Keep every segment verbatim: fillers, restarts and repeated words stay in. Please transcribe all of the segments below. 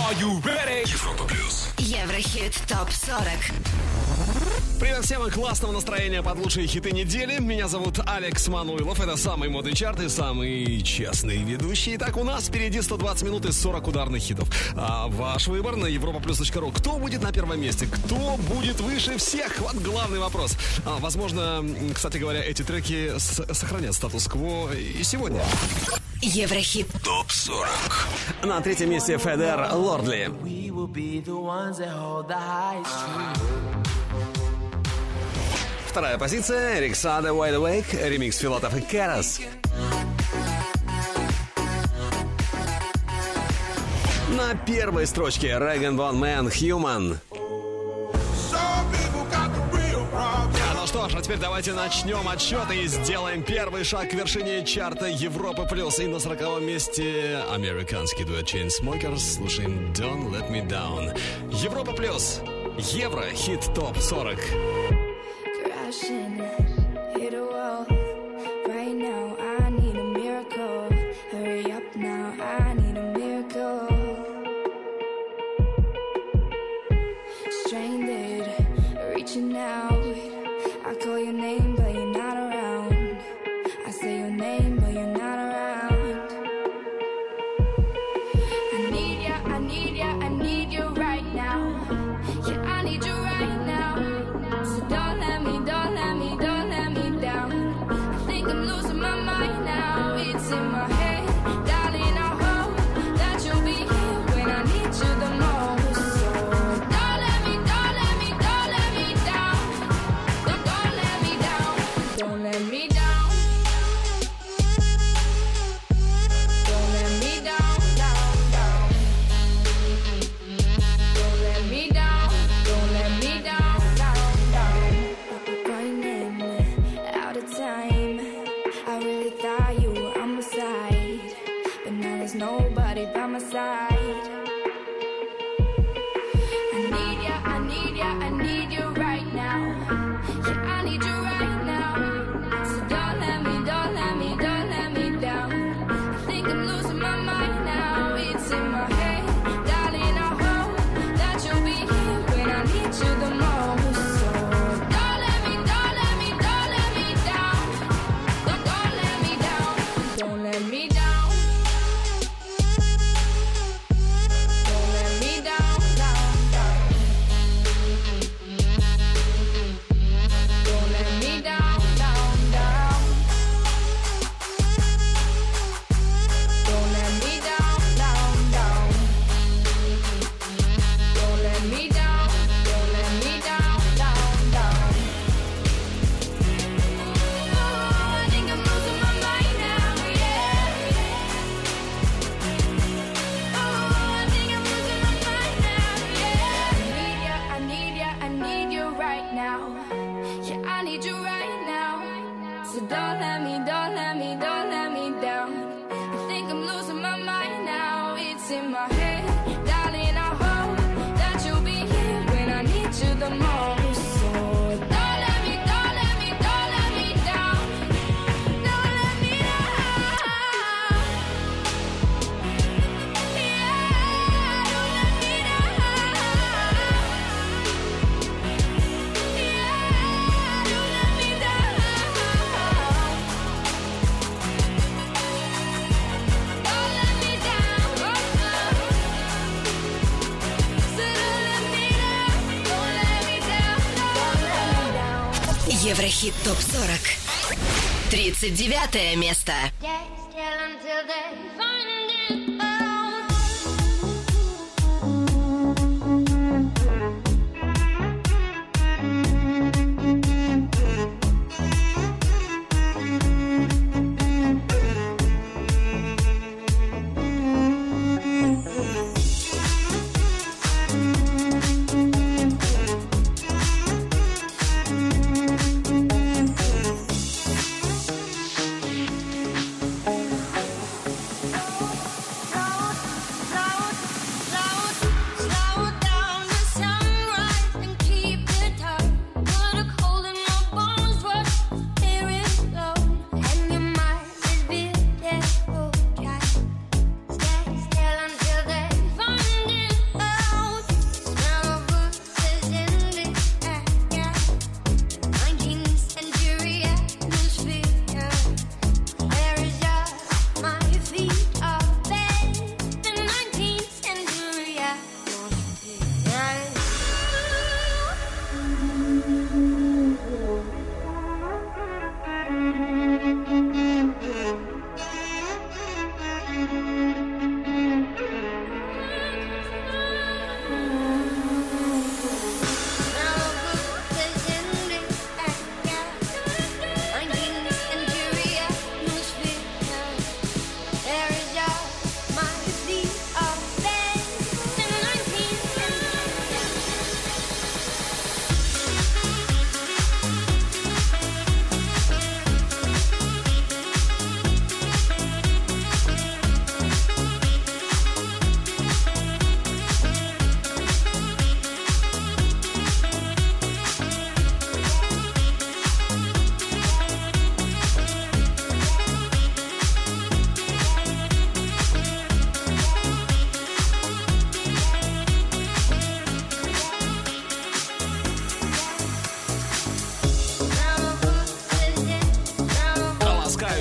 Are you ready? Европа плюс. Еврохит топ сорок. Привет всем и классного настроения под лучшие хиты недели. Меня зовут Алекс Мануилов. Это самый модный чарт и самый честный ведущий. Итак, у нас впереди сто двадцать минут и сорок ударных хитов. А ваш выбор на европа плюс точка ру. Кто будет на первом месте? Кто будет выше всех? Вот главный вопрос. А, возможно, кстати говоря, эти треки с- сохранят статус-кво и сегодня. Еврохит топ сорок. На третьем месте Федер Лордли. Вторая позиция Эрик Саде Wide Awake, ремикс Филатов и Карас. На первой строчке Regan Bone Man Human. Ну что ж, а теперь давайте начнем отсчет и сделаем первый шаг к вершине чарта Европы плюс. И на сороковом месте американский дуэт Chainsmokers. Слушаем Don't Let Me Down. Европа плюс. Евро хит топ сорок. Hit a wall. Right now, I need a miracle. Hurry up now, I need a miracle. Stranded, reaching out. I call your name, but you're not around. I say your name, but you're not around. I need ya, I need ya, I need you right now. Yeah, I need you right now. So don't let me, don't let me, don't let me down. I think I'm losing my mind now. It's in my head, darling. I hope that you'll be here when I need you the most. So don't let me, don't let me, don't let me down. Don't, don't let me down. Don't let me down. Don't let me down, down, down. Don't let me down. Don't let me down, down, down. Running out of time. I really thought you were on my side, but now there's nobody by my side. I need ya, I need ya, I need you right now. Yeah, I need you right now. So don't let me, don't let me, don't let me down. I think I'm losing my mind now. It's in my head, darling. I hope that you'll be here when I need you the most. So don't let me, don't let me, don't let me down. Don't, don't let me down. Don't let me down. Don't let me down, down, down. Don't let me down, down, down. Don't let me down, down, down. Don't let me down, don't let me down, down, down. Oh, I think I'm losing my mind now, yeah. Oh, I think I'm losing my mind now, yeah. I need ya, I need ya, I need you right now. Yeah, I need you right now. So don't let me, don't let me, don't let me down. I think I'm losing my mind now. It's in my head, darling. I hope that you'll be here when I need you the most. So don't let me, don't let me, don't let me down. Don't let me down. Yeah, don't let me down. Yeah, don't let me down. Don't let me down. So don't let me down. Don't let me down. Don't let me down. Еврохит топ сорок. тридцать девятое место. Just tell until they find it out.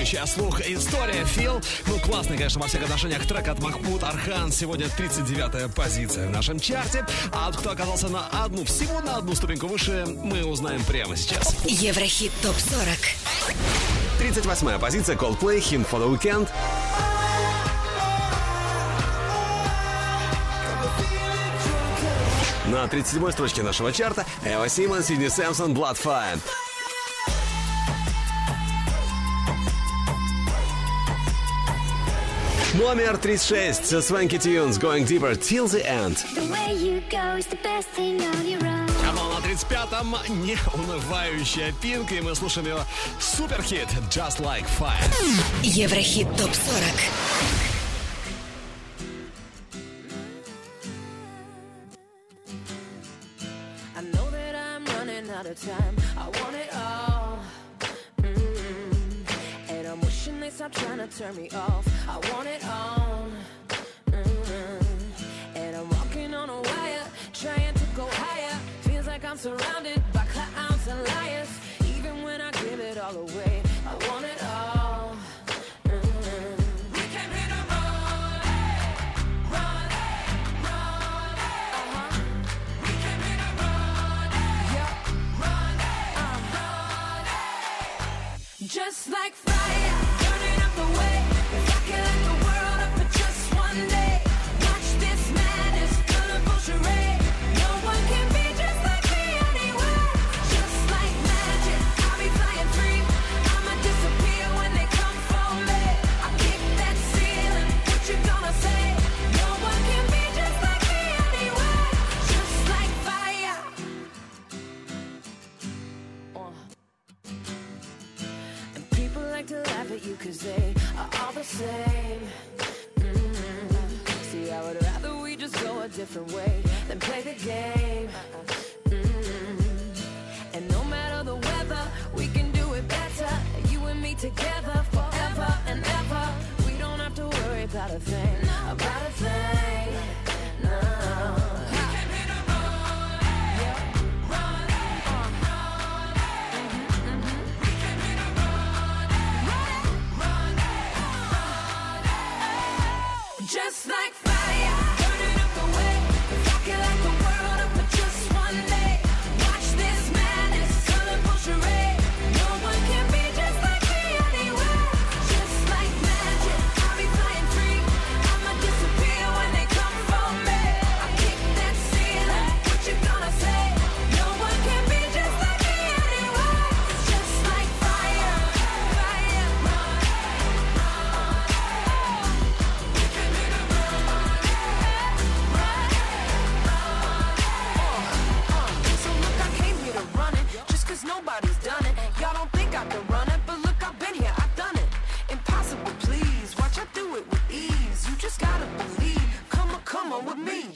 ласкающая слух история Фил. Ну, классный, конечно, во всех отношениях трек от Махмуд Архан. Сегодня тридцать девятая позиция в нашем чарте. А кто оказался на одну, всего на одну ступеньку выше, мы узнаем прямо сейчас. Еврохит топ сорок. тридцать восьмая позиция Coldplay, Hint for the Weekend. На тридцать седьмой строчке нашего чарта Эва Симон, Сидни Сэмпсон, Bloodfire. Номер тридцать шесть Swanky Tunes, Going Deeper Till the End. А на тридцать пятом неунывающая Пинк, и мы слушаем ее суперхит Just Like Fire. Еврохит топ сорок. Time. I want it all, mm-hmm. And I'm wishing they stop trying to turn me off. I want it all, mm-hmm. And I'm walking on a wire, trying to go higher. Feels like I'm surrounded by clowns and liars. Even when I give it all away, I want it all, mm-hmm. We came here to run, run, run, uh-huh. We came here to run, yeah. Just like fire, burning up the way. If I can light the world up for just one day. Watch this madness, colorful charade. No one can be just like me anyway. Just like magic, I'll be flying free. I'ma disappear when they come for me. I kick that ceiling, what you gonna say? No one can be just like me anyway. Just like fire. Uh. People like to laugh at you cause they are all the same. Mm-hmm. See, I would rather we just go a different way than play the game. Mm-hmm. And no matter the weather, we can do it better. You and me together forever and ever. We don't have to worry about a thing, about a thing, no. Just like fire, burning up the way. If I can light the world up for just one day. Watch this madness, colorful charade. No one can be just like me anyway. Just like magic, I'll be flying free. I'ma disappear when they come for me. I kick that ceiling, what you gonna say? No one can be just like me anyway. Just like fire, fire, run, run. Nobody's done it. Y'all don't think I can run it, but look, I've been here, I've done it. Impossible, please. Watch I do it with ease. You just gotta believe. Come on, come on with me.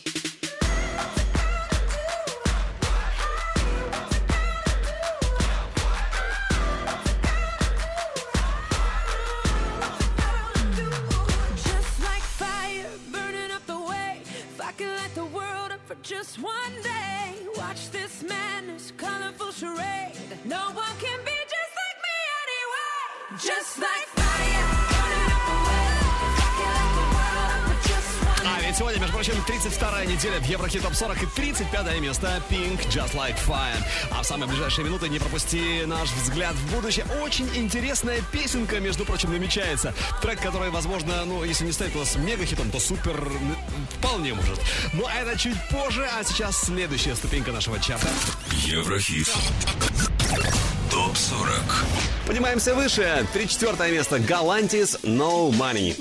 Just like fire, burning up the way. If I can light the world up for just one day. Watch this madness, colorful charade. No one can be just like me anyway. Just like fire, burning up the way. If I can light the world up for just one day. А ведь сегодня, между прочим, тридцать вторая неделя в Еврохит топ сорок и тридцать пятое место Pink, Just Like Fire. А в самые ближайшие минуты не пропусти наш взгляд в будущее. Очень интересная песенка, между прочим, намечается. Трек, который, возможно, ну, если не станет у нас мега-хитом, то супер вполне может. Но это чуть позже, а сейчас следующая ступенька нашего чарта. Еврохит топ сорок. Поднимаемся выше. тридцать четвёртое место Galantis, No Money.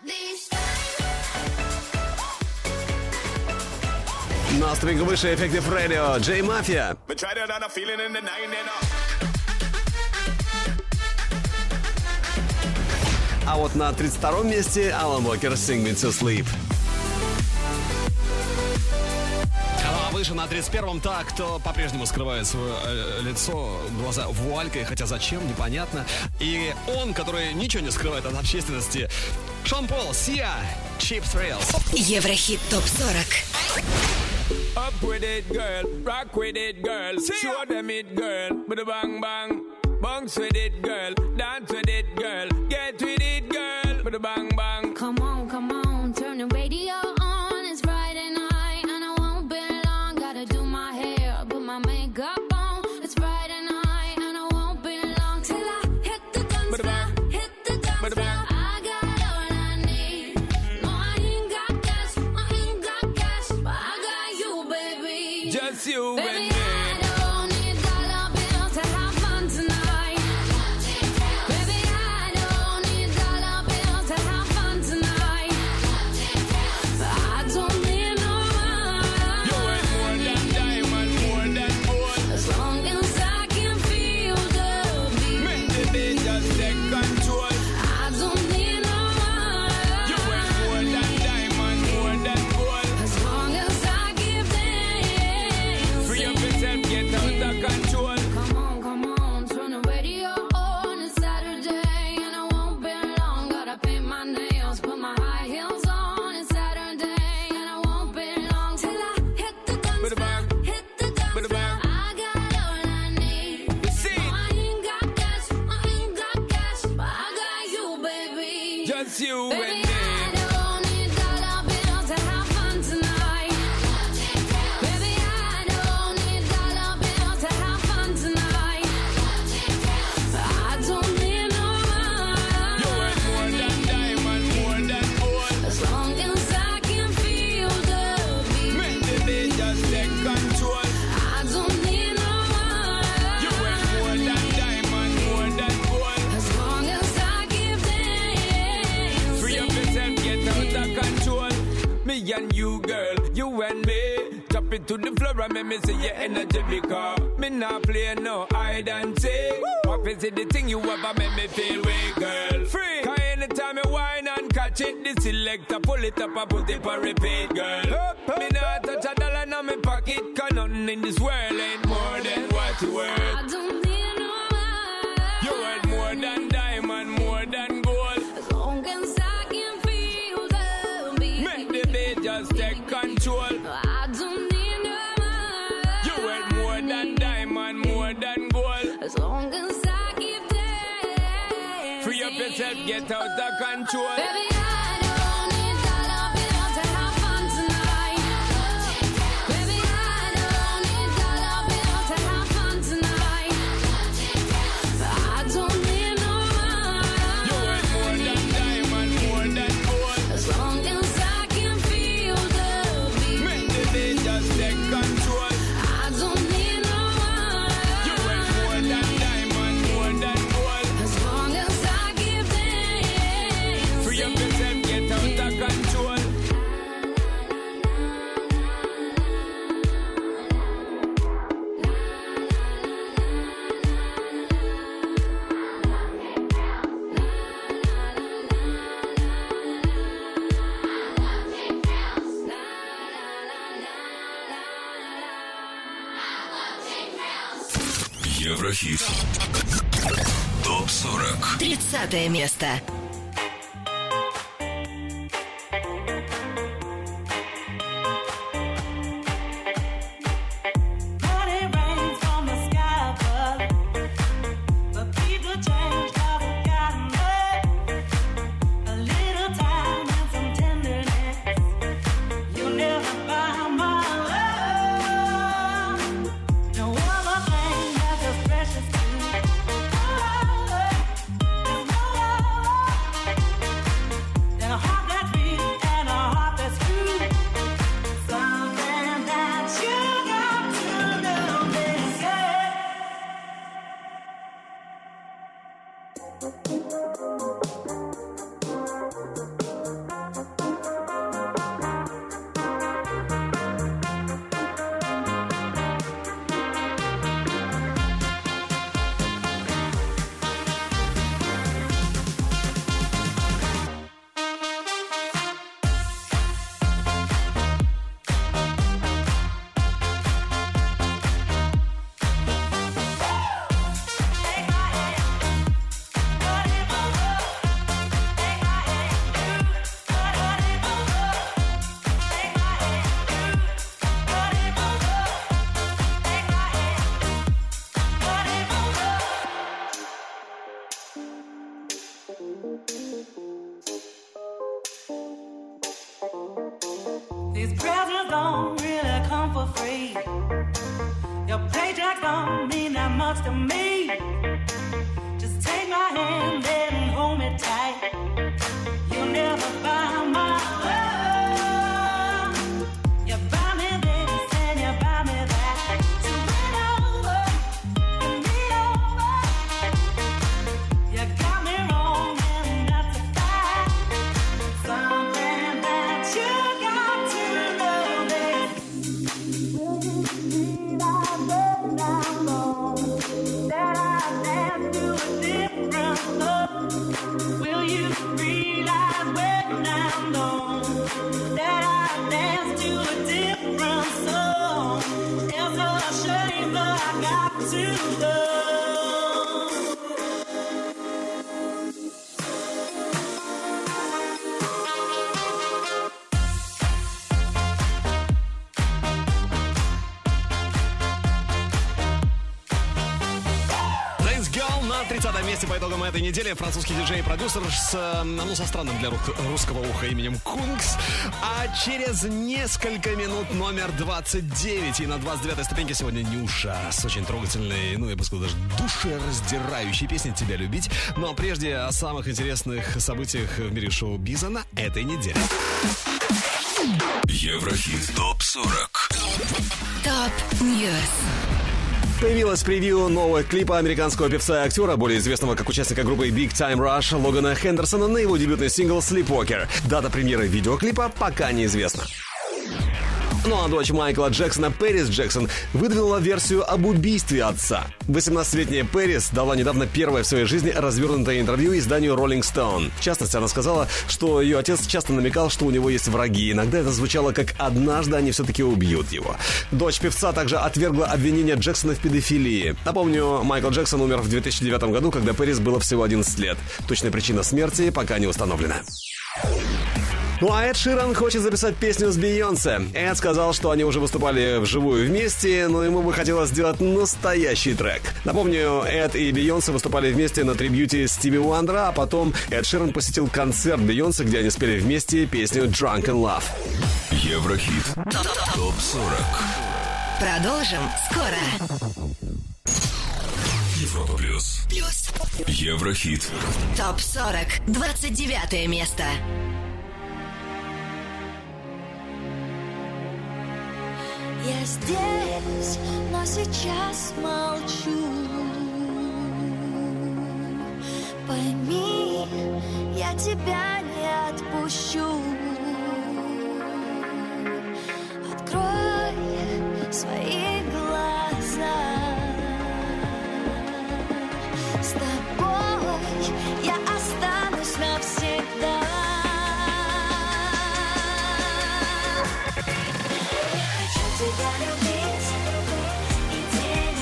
На ступеньку выше Effective Radio, J Mafia. А вот на тридцать втором месте Alan Walker, Sing Me to Sleep. А выше на тридцать первом та, кто по-прежнему скрывает свое э, лицо, глаза вуалькой, хотя зачем, непонятно. И он, который ничего не скрывает от общественности, Шон Пол, Sia, Cheap Thrills. Еврохит топ сорок. Up with it, girl. Rock with it, girl. Show them it, girl. With a bang bang. Bounce with it, girl. Dance with it, girl. Get with it, girl. With a bang bang. Come on, come on, turn the radio on. It's Friday night and I won't be long. Gotta do my hair, put my makeup on. It's Friday night and I won't be long till I hit the dance floor, hit the dance floor. I got all I need. No, I ain't got cash, I ain't got cash, but I got you, baby. Just you Baby, and me. I don't need dollar bills to have fun tonight. Baby, I don't need dollar bills to have fun tonight. But I don't need no You ain't more than diamond, more than gold. as long as I can feel the beat. Make the beat just take control. I don't need no You ain't more than diamond, more than gold. as long as I give them. Free up yourself, get out of control. Come on, come on, turn the radio on. It's Saturday and I won't be long. Gotta paint my nails, put my high heels on. It's Saturday and I won't be long till I hit the dance With a floor, bang. hit the dance With a floor. bang. I got all I need. You see? No, I ain't got cash, I ain't got cash, but I got you, baby. Just you and Baby, me. I don't need dollar bills to have fun tonight. Baby, I don't need dollar bills to have fun tonight. But I don't need no You ain't more than diamond, more than gold. as long as I can feel the beat. Make the beat just take control. I don't need no You ain't more than diamond, more than gold. as long as I give them. Free up yourself, get out of control. Me and you, girl, you and me. Drop it to the floor and make me see your energy because me not play no hide and seek. What is it the thing you ever make me feel weak, girl? Free. Cause anytime I whine and catch it, the selector pull it up and put it for repeat, girl. Me not touch a dollar in my pocket, cause nothing in this world ain't more than what you worth. I don't need no You worth more than diamond, more than gold. as long as I can feel the beat. Make the beat just take control. I don't need no You worth more than diamond, more than gold. as long as I keep dancing. Free up yourself, get out of control. Baby, I don't need dollar bills to have fun tonight. Baby, I don't need dollar bills to have fun tonight. But I don't need no You worth more than diamond, more than gold. as long as I can feel the beat. Make the beat just take control. I don't need no You worth more than diamond, more than gold. as long as I give them. Free up yourself, get out of control. Еврохит. Топ сорок. Тридцатое место. Money rains from the sky above, but people change, love has gotten up. A little time and some tenderness, you'll never buy my love. No other thing that's as precious to me. There's no love don't really come for free. Your paycheck don't mean that much to me. Just take my hand and hold me tight. You'll never buy my love. You buy me this and you buy me that. So win over, win me over. You got me wrong and that's a fact. Something that you got to know is that I dance to a different love. Will you realize when I'm gone that I dance to a different song? It's a shame that I got to know. Dance Girl на тридцатом месте по итогам этой недели. Французский диджей и продюсер с, э, ну, со странным для ру- русского уха именем Кункс. А через несколько минут номер двадцать девять. И на двадцать девятой ступеньке сегодня Нюша с очень трогательной, ну, я бы сказал, даже душераздирающей песней «Тебя любить». Но прежде о самых интересных событиях в мире шоу-биза на этой неделе. Еврохит топ сорок. Топ Ньюс. Появилось превью нового клипа американского певца и актера, более известного как участника группы Big Time Rush Логана Хендерсона, на его дебютный сингл «Sleepwalker». Дата премьеры видеоклипа пока неизвестна. Ну а дочь Майкла Джексона, Пэрис Джексон, выдвинула версию об убийстве отца. восемнадцатилетняя Пэрис дала недавно первое в своей жизни развернутое интервью изданию Rolling Stone. В частности, она сказала, что ее отец часто намекал, что у него есть враги. Иногда это звучало как «однажды они все-таки убьют его». Дочь певца также отвергла обвинение Джексона в педофилии. Напомню, Майкл Джексон умер в две тысячи девятом году, когда Пэрис было всего одиннадцать лет. Точная причина смерти пока не установлена. Ну а Эд Ширан хочет записать песню с Бейонсе. Эд сказал, что они уже выступали вживую вместе, но ему бы хотелось сделать настоящий трек. Напомню, Эд и Бейонсе выступали вместе на трибьюте Стиви Уандера, а потом Эд Ширан посетил концерт Бейонсе, где они спели вместе песню «Drunk in Love». Еврохит топ сорок. Продолжим скоро. Европа плюс. Плюс. Еврохит. Топ сорок. двадцать девятое место. Я здесь, но сейчас молчу. Пойми, я тебя не отпущу. Открой свои глаза. С тобой я останусь навсегда. Тебя любить и день, и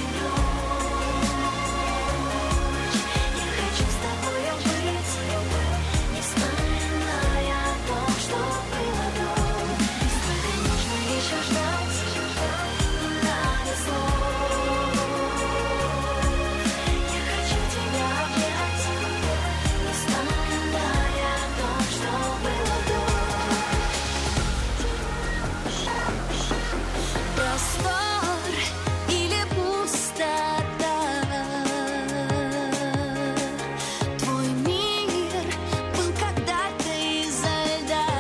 ночь. Я хочу с тобою быть, не вспоминая о том, что было до. Сколько нужно еще ждать, не надо слов. Я хочу тебя обнять, не вспоминая о том, что было до. Простор или пустота, твой мир был когда-то изо льда,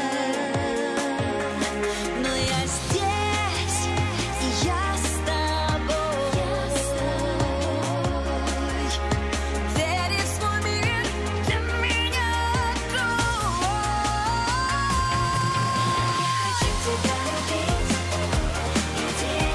но я здесь, и я с тобой. Двери в свой мир для меня открой. Я хочу тебя любить. День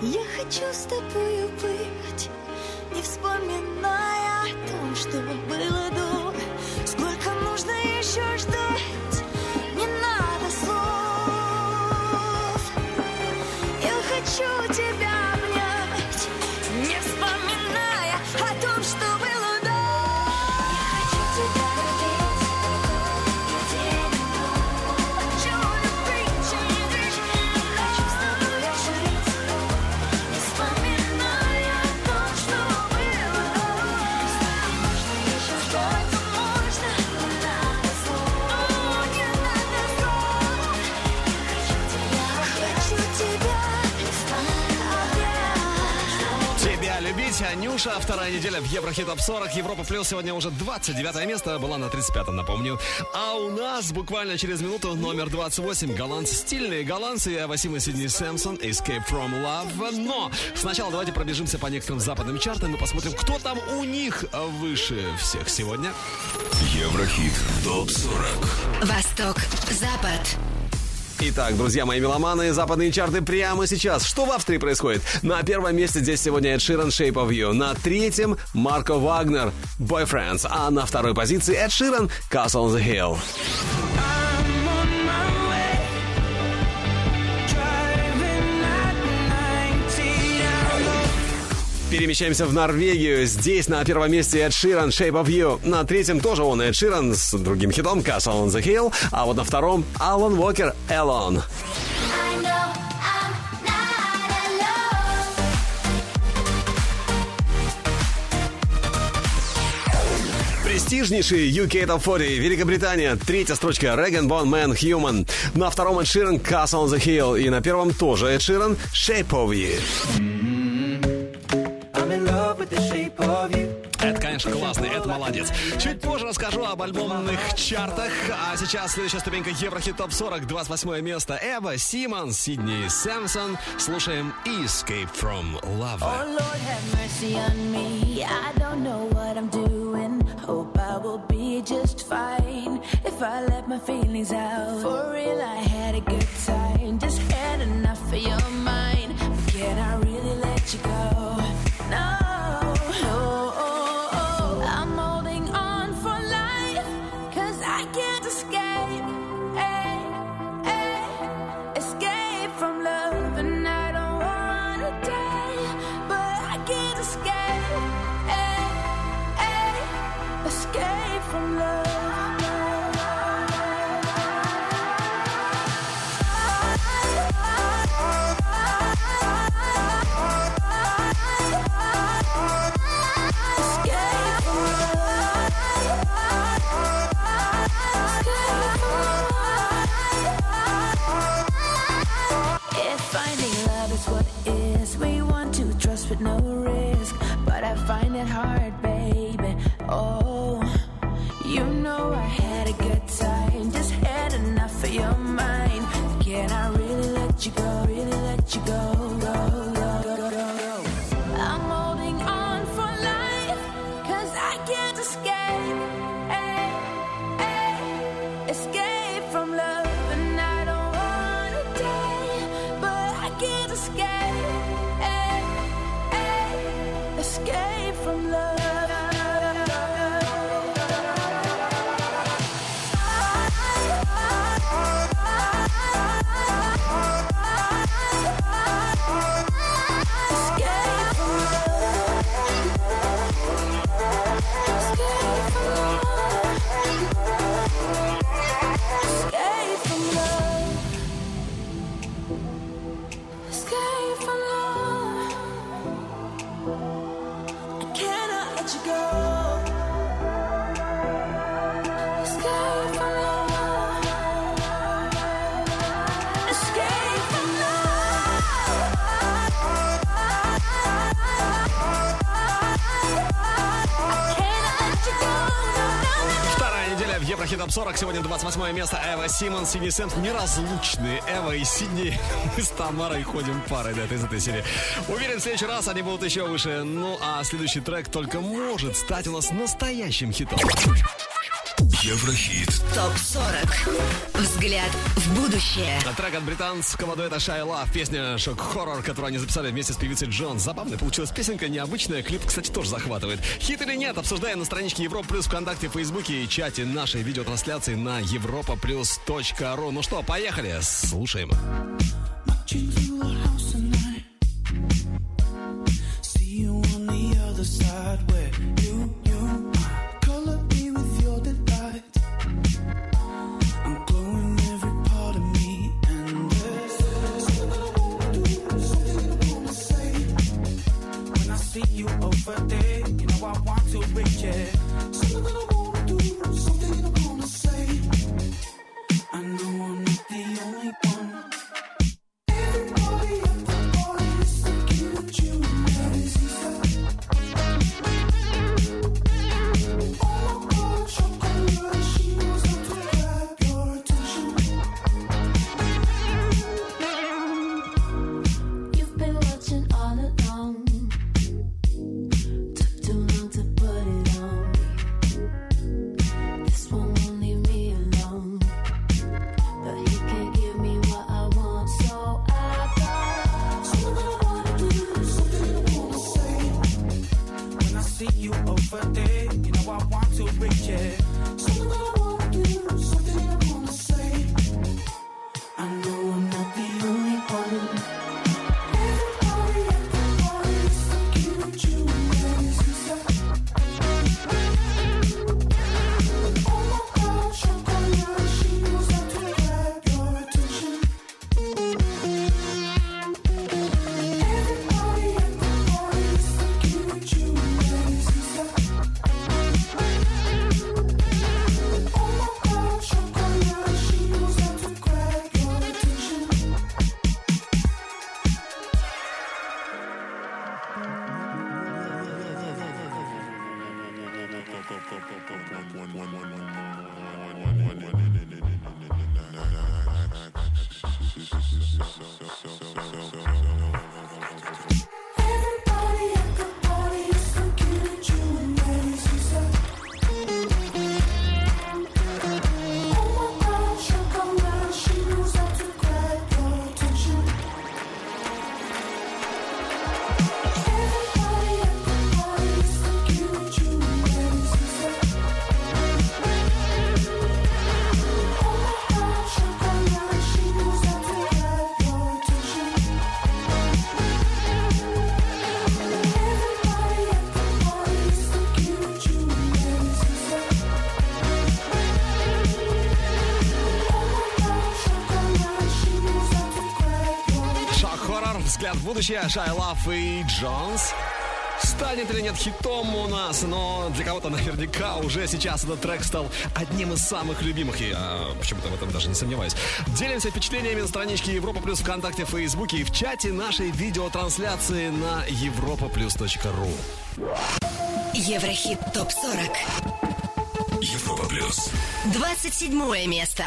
Я хочу с тобою быть, не вспоминая о том, что было до. Сколько нужно еще ждать, не надо слов. Я хочу тебя обнять, не вспоминая о том, что было до. Я хочу тебя любить, хочу любить, хочу с тобой жить, не вспоминая о том, что было до. Можно еще ждать, можно, не надо слов, не надо слов. Я хочу тебя обнять. Тебя любить, Анюша. Вторая неделя в Еврохит Топ сорок. Европа Плюс сегодня уже двадцать девятое место. Была на тридцать пятом, напомню. А у нас буквально через минуту номер двадцать восемь. Голландцы, стильные голландцы. Эва Симон, Сидни Сэмпсон, Escape from Love. Но сначала давайте пробежимся по некоторым западным чартам и посмотрим, кто там у них выше всех сегодня. Еврохит Топ сорок. Восток, Запад. Итак, друзья мои меломаны, западные чарты прямо сейчас. Что в Австрии происходит? На первом месте здесь сегодня Эд Ширан, Shape of You. На третьем Марко Вагнер, Boyfriends. А на второй позиции Эд Ширан, Castle on the Hill. Перемещаемся в Норвегию. Здесь на первом месте Эд Ширан, Shape of You. На третьем тоже он, Эд Ширан, с другим хитом Castle on the Hill. А вот на втором Алан Уокер, Alone. Престижнейший ю кей Top сорок, Великобритания. Третья строчка Rag and Bone Man, Human. На втором Эд Ширан, Castle on the Hill. И на первом тоже Эд Ширан, Shape of You. Это, конечно, классный, это молодец. Чуть позже расскажу об альбомных чартах. А сейчас следующая ступенька Еврохит Топ сорок, двадцать восьмое место. Эва Симон, Сидни Сэмпсон. Слушаем Escape from Love. Oh Lord, have mercy on me. I don't know what I'm doing. Hope I will be just fine if I let my feelings out. For real, I had a good time. Just had enough of your mind. But can I really let you go? No. With no risk, but I find it hard, baby. Oh, you know I had a good time, just had enough of your mind. Can I really let you go? Really let you go? Go, go, go, go, go. I'm holding on for life, 'cause I can't escape. Hey, hey, escape from love, and I don't wanna die, but I can't escape. Escape from love. Еврохит Топ сорок. Сегодня двадцать восьмое место. Эва Симон, Сидни Сэмпсон. Неразлучные Эва и Сидни. Мы с Тамарой ходим парой, да, из этой серии. Уверен, в следующий раз они будут еще выше. Ну, а следующий трек только может стать у нас настоящим хитом. Еврохит. ТОП сорок. Взгляд в будущее. Трек от британского дуэта Shia LaBeouf, песня «Шок-хоррор», которую они записали вместе с певицей Джонс. Забавная получилась песенка, необычная, клип, кстати, тоже захватывает. Хит или нет, обсуждаем на страничке Европа Плюс ВКонтакте, Фейсбуке и чате нашей видеотрансляции на европа плюс точка ру. Ну что, поехали, слушаем. Взгляд в будущее, Shia LaBeouf и Джонс. Станет или нет хитом у нас, но для кого-то наверняка уже сейчас этот трек стал одним из самых любимых. И я почему-то в этом даже не сомневаюсь. Делимся впечатлениями на страничке Европа Плюс ВКонтакте, Фейсбуке и в чате нашей видеотрансляции на европа плюс точка ру. Еврохит ТОП сорок. Европа Плюс. двадцать седьмое место.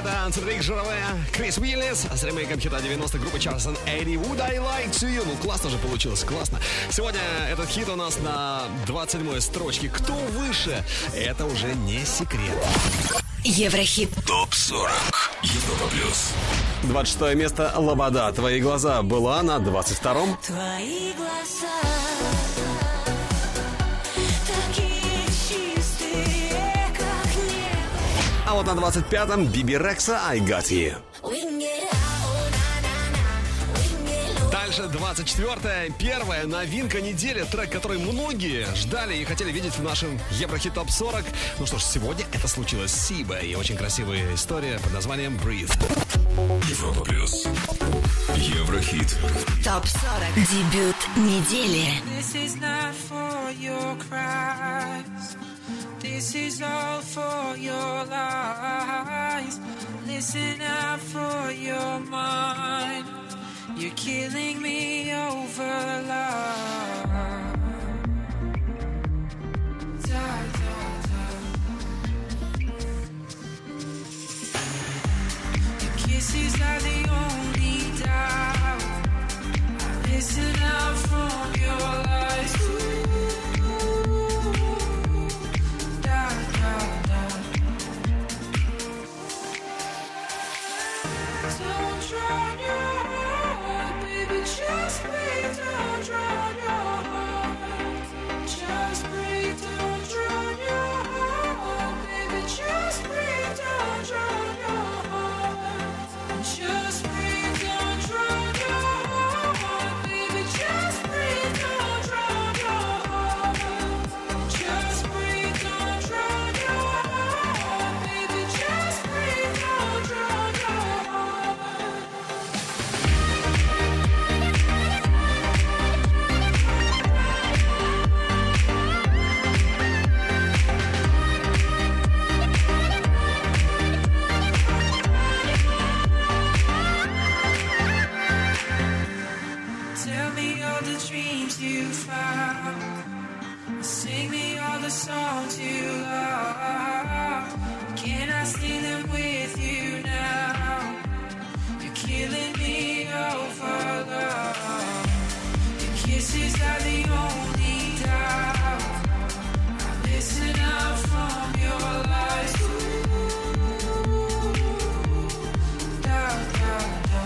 Это Ансенрик Жирове, Крис Уиллис с ремейком хита девяностых группы Charleston eighty. Would I like to you? Ну, классно же получилось, классно. Сегодня этот хит у нас на двадцать седьмой строчке. Кто выше? Это уже не секрет. Еврохит. ТОП сорок. Европа плюс. двадцать шестое место «Лобода. Твои глаза» была на двадцать втором. Твои глаза такие чистые, как небо. А вот на двадцать пятом Биби Рекса «I Got You». Дальше двадцать четвёртое. Первая новинка недели. Трек, который многие ждали и хотели видеть в нашем Еврохит ТОП сорок. Ну что ж, сегодня это случилось с Сибо. И очень красивая история под названием «Breathe». Европа плюс. Еврохит. ТОП сорок. Дебют недели. This is not for your cries. This is all for your lies. Listen out for your mind. You're killing me over love. Da, da, da. Your kisses are the only doubt. Listen out from your lies. Ooh, da, da, da. Don't drown your heart, baby. Just breathe. Don't drown your heart. Just breathe. Don't drown your heart, baby. Just breathe. Don't drown your heart. Just breathe. Don't drown your heart, baby. Just breathe. Don't drown your heart. Just breathe. Don't drown your heart, baby. Just breathe. Don't drown your heart. Tell me all the dreams you found. Sing me all the songs you love. Can I sing them with you now? You're killing me over love. Your kisses are the only doubt. Listen out from your lies. Ooh, da, da, da.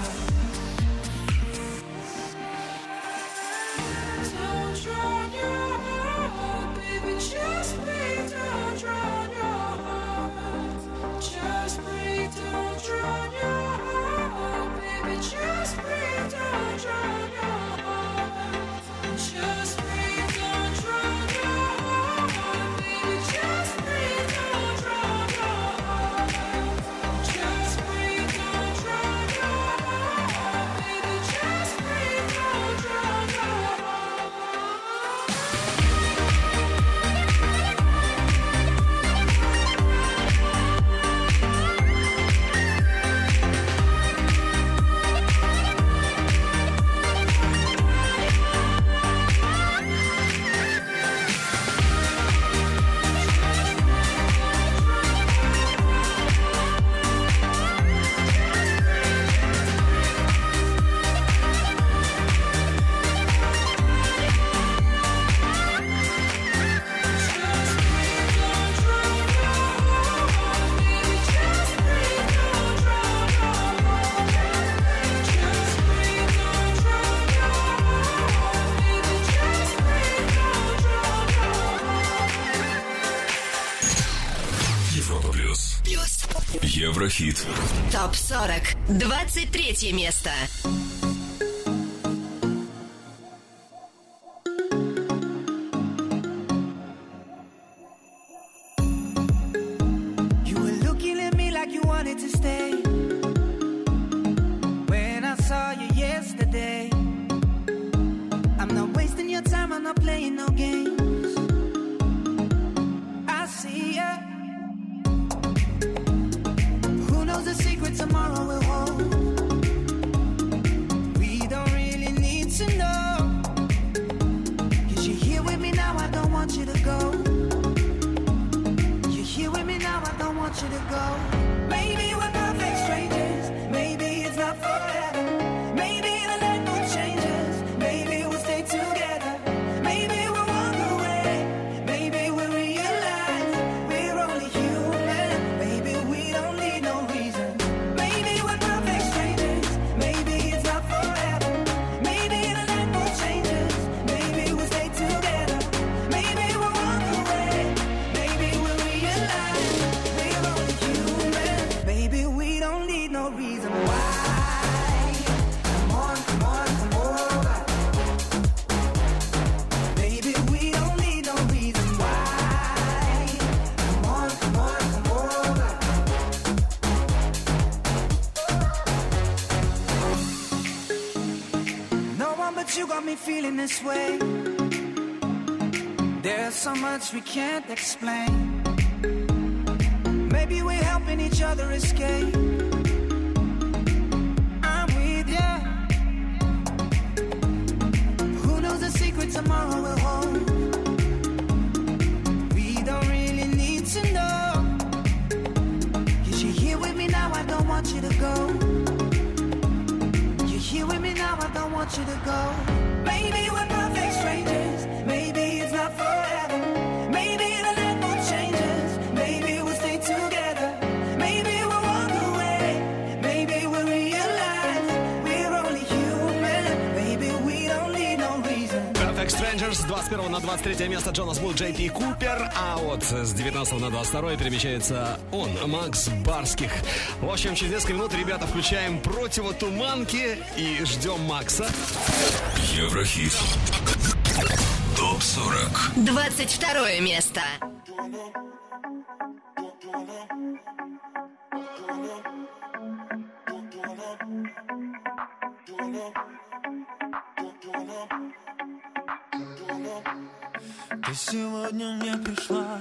Don't drown your heart, baby. Just breathe. Don't drown your heart. Just breathe. Don't drown your heart, baby. Just breathe. Don't drown your heart. Just breathe. Don't drown your heart, baby. Just breathe. Don't drown your heart. Just breathe. Don't drown your heart, baby. Just breathe. Don't drown your heart. Европа плюс. Плюс. Еврохит. ТОП сорок. двадцать третье место. You were looking at me like you wanted to stay. When I saw you yesterday, I'm not wasting your time, I'm not playing no games. I see ya. Who knows the secret tomorrow will hold? We don't really need to know. 'Cause you're here with me now, I don't want you to go. You're here with me now, I don't want you to go. Maybe we're perfect this way. There's so much we can't explain. Maybe we're helping each other escape. I'm with ya. Who knows the secret tomorrow will hold? We don't really need to know. Cause you're here with me now, I don't want you to go. You're here with me now, I don't want you to go. Maybe we're perfect strangers. Maybe it's not forever. Maybe the night will change us. Maybe we'll stay together. Maybe we'll walk away. Maybe we'll realize we're only human. Maybe we don't need no reason. Perfect Strangers, с двадцать первого на двадцать третье место Джонас Блу, Джей Пи Купер, а вот с девятнадцатого на двадцать второе перемещается он, Макс Барских. В общем, через несколько минут, ребята, включаем противотуманки и ждем Макса. Еврохит. Топ сорок. двадцать второе место. Ты сегодня мне пришла.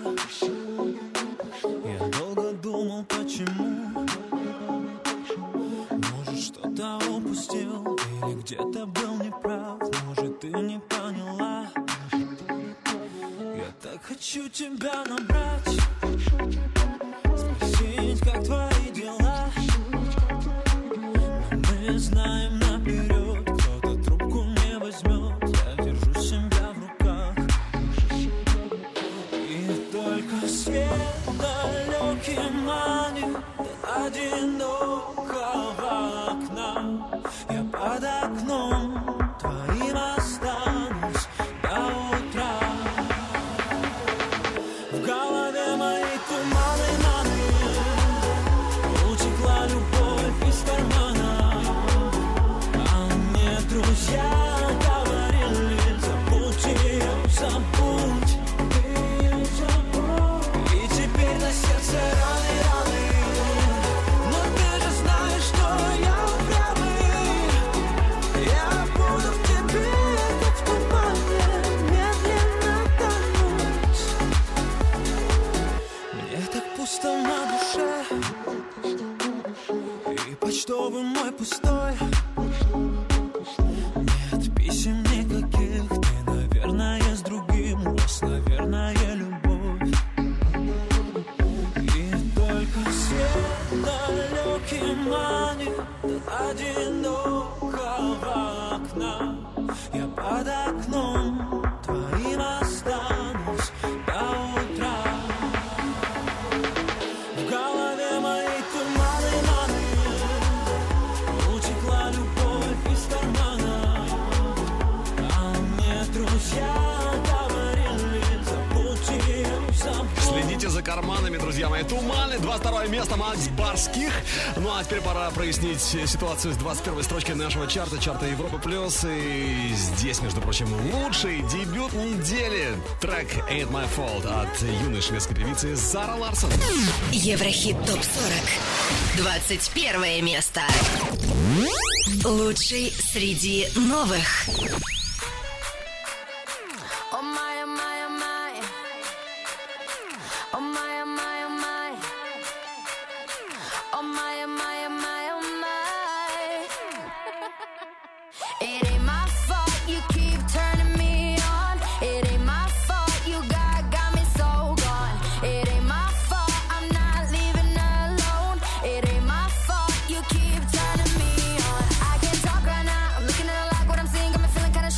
Я долго думал, почему. Может, что-то упустил или где-то был неправ. Может, ты не поняла. Я так хочу тебя набрать, спросить, как твои дела. Но мы знаем наперед, кто-то трубку не возьмет. Я держу себя в руках. И только свет далекий манит до одинокого окна. Я под окном твоим останусь до утра. В голове моей туманы, маны. Утекла любовь из кармана. А мне друзья говорили: забудь ее, забудь. И теперь на сердце раны, раны. Но ты же знаешь, что я упрямый. Я буду в тебе, как в тумане, медленно тонуть. Мне так пусто на душе, и почтовый мой пустой. Нет писем никаких, ты, наверное, с другим. У вас, наверное, любовь. И только свет далекий манит до одинокого окна. Я под окном твоим останусь до утра. В голове моей туманы, маны. Утекла любовь из кармана. А мне друзья говорили: забудь ее, забудь. Следите за карманами, друзья мои. Туманы, двадцать второе место, Макс Барских. Ну а теперь пора прояснить ситуацию с двадцать первой строчкой нашего чарта, чарта Европа Плюс. И здесь, между прочим, лучший дебют недели. Трек Ain't My Fault от юной шведской певицы Зара Ларсон. Еврохит топ сорок. двадцать первое место. Лучший среди новых. Oh my, oh my, oh my. Oh my, oh my, oh my. Oh my, oh my, oh my, oh my. It ain't my fault you keep turning me on. It ain't my fault you got, got me so gone. It ain't my fault I'm not leaving alone. It ain't my fault you keep turning me on. I can't talk right now, I'm looking at a lot, what I'm seeing got me feeling kinda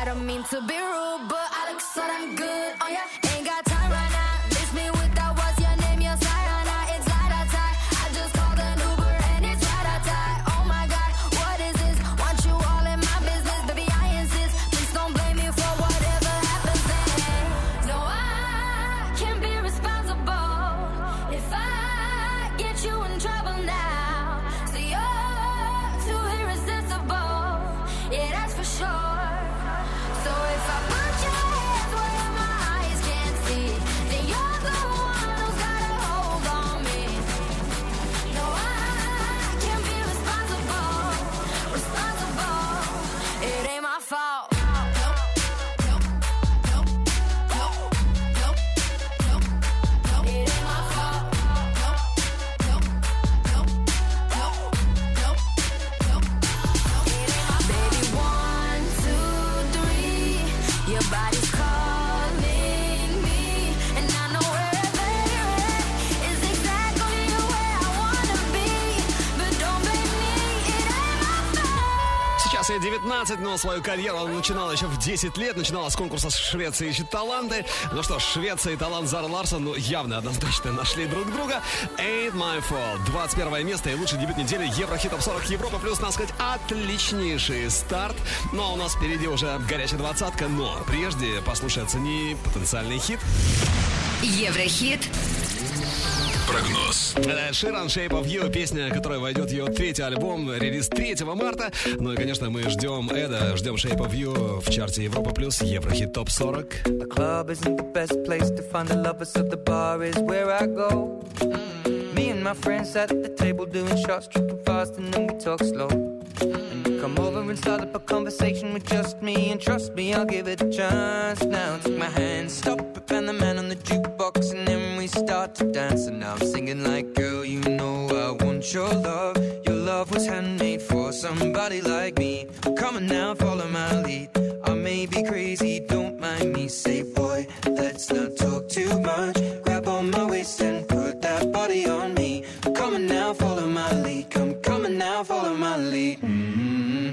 don't mean to be rude, but I look so damn good on ya. Ain't got time right now. Miss me with that. What's your name? Your Sayana. It's like a tie. I just called an Uber and it's right a tie. Oh my God, what is this? Want you all in my business, baby. I insist. Please don't blame me for whatever happens then. No, I can't be responsible if I get you in trouble now. So you're too irresistible. Yeah, that's for sure. So if I put your hands where my eyes can't see, then you're the one who's got a hold on me. No, I can't be responsible, responsible. It ain't my fault. Nope, nope, nope, nope, nope, nope, nope. It ain't my fault. Nope, nope, nope, nope, nope, nope, nope. It ain't my baby. One, two, three. Your body's calling me, and I know where, baby, is exactly where I wanna be. But don't blame me, it ain't my fault. Сейчас ей девятнадцать, но свою карьеру она начинала еще в десять лет. Начинала с конкурса «Швеция ищет таланты». Ну что ж, Швеция и талант Зары Ларсон, ну, явно, однозначно нашли друг друга. Ain't My Fault. двадцать первое место и лучший дебют недели Еврохит Топ сорок Европа плюс, надо сказать, отличнейший старт. Ну, а у нас впереди уже горячая двадцатка, но прежде послушай, оцени потенциальный хит. Еврохит. Прогноз. Это Ширан Shape of You, песня, которая войдет в ее третий альбом, релиз третьего марта. Ну и, конечно, мы ждем Эда, ждем Shape of You в чарте Европа плюс, Еврохит Топ сорок. The club isn't the best place to find the lovers, so the bar is where I go. Me and my friends sat at the table doing shots, tripping fast, and then we talk slow. And you come over and start up a conversation with just me, and trust me, I'll give it a chance. Now take my hand, stop it, and the man on the jukebox, and then we start to dance. And now I'm singing like, girl, you know I want your love. Your love was handmade for somebody like me. Come on now, follow my lead. I may be crazy, don't mind me. Say, boy, let's not talk too much. Grab on my waist and put that body on me. Come on now, follow my lead. Come, come on now, follow my lead. Mm-hmm.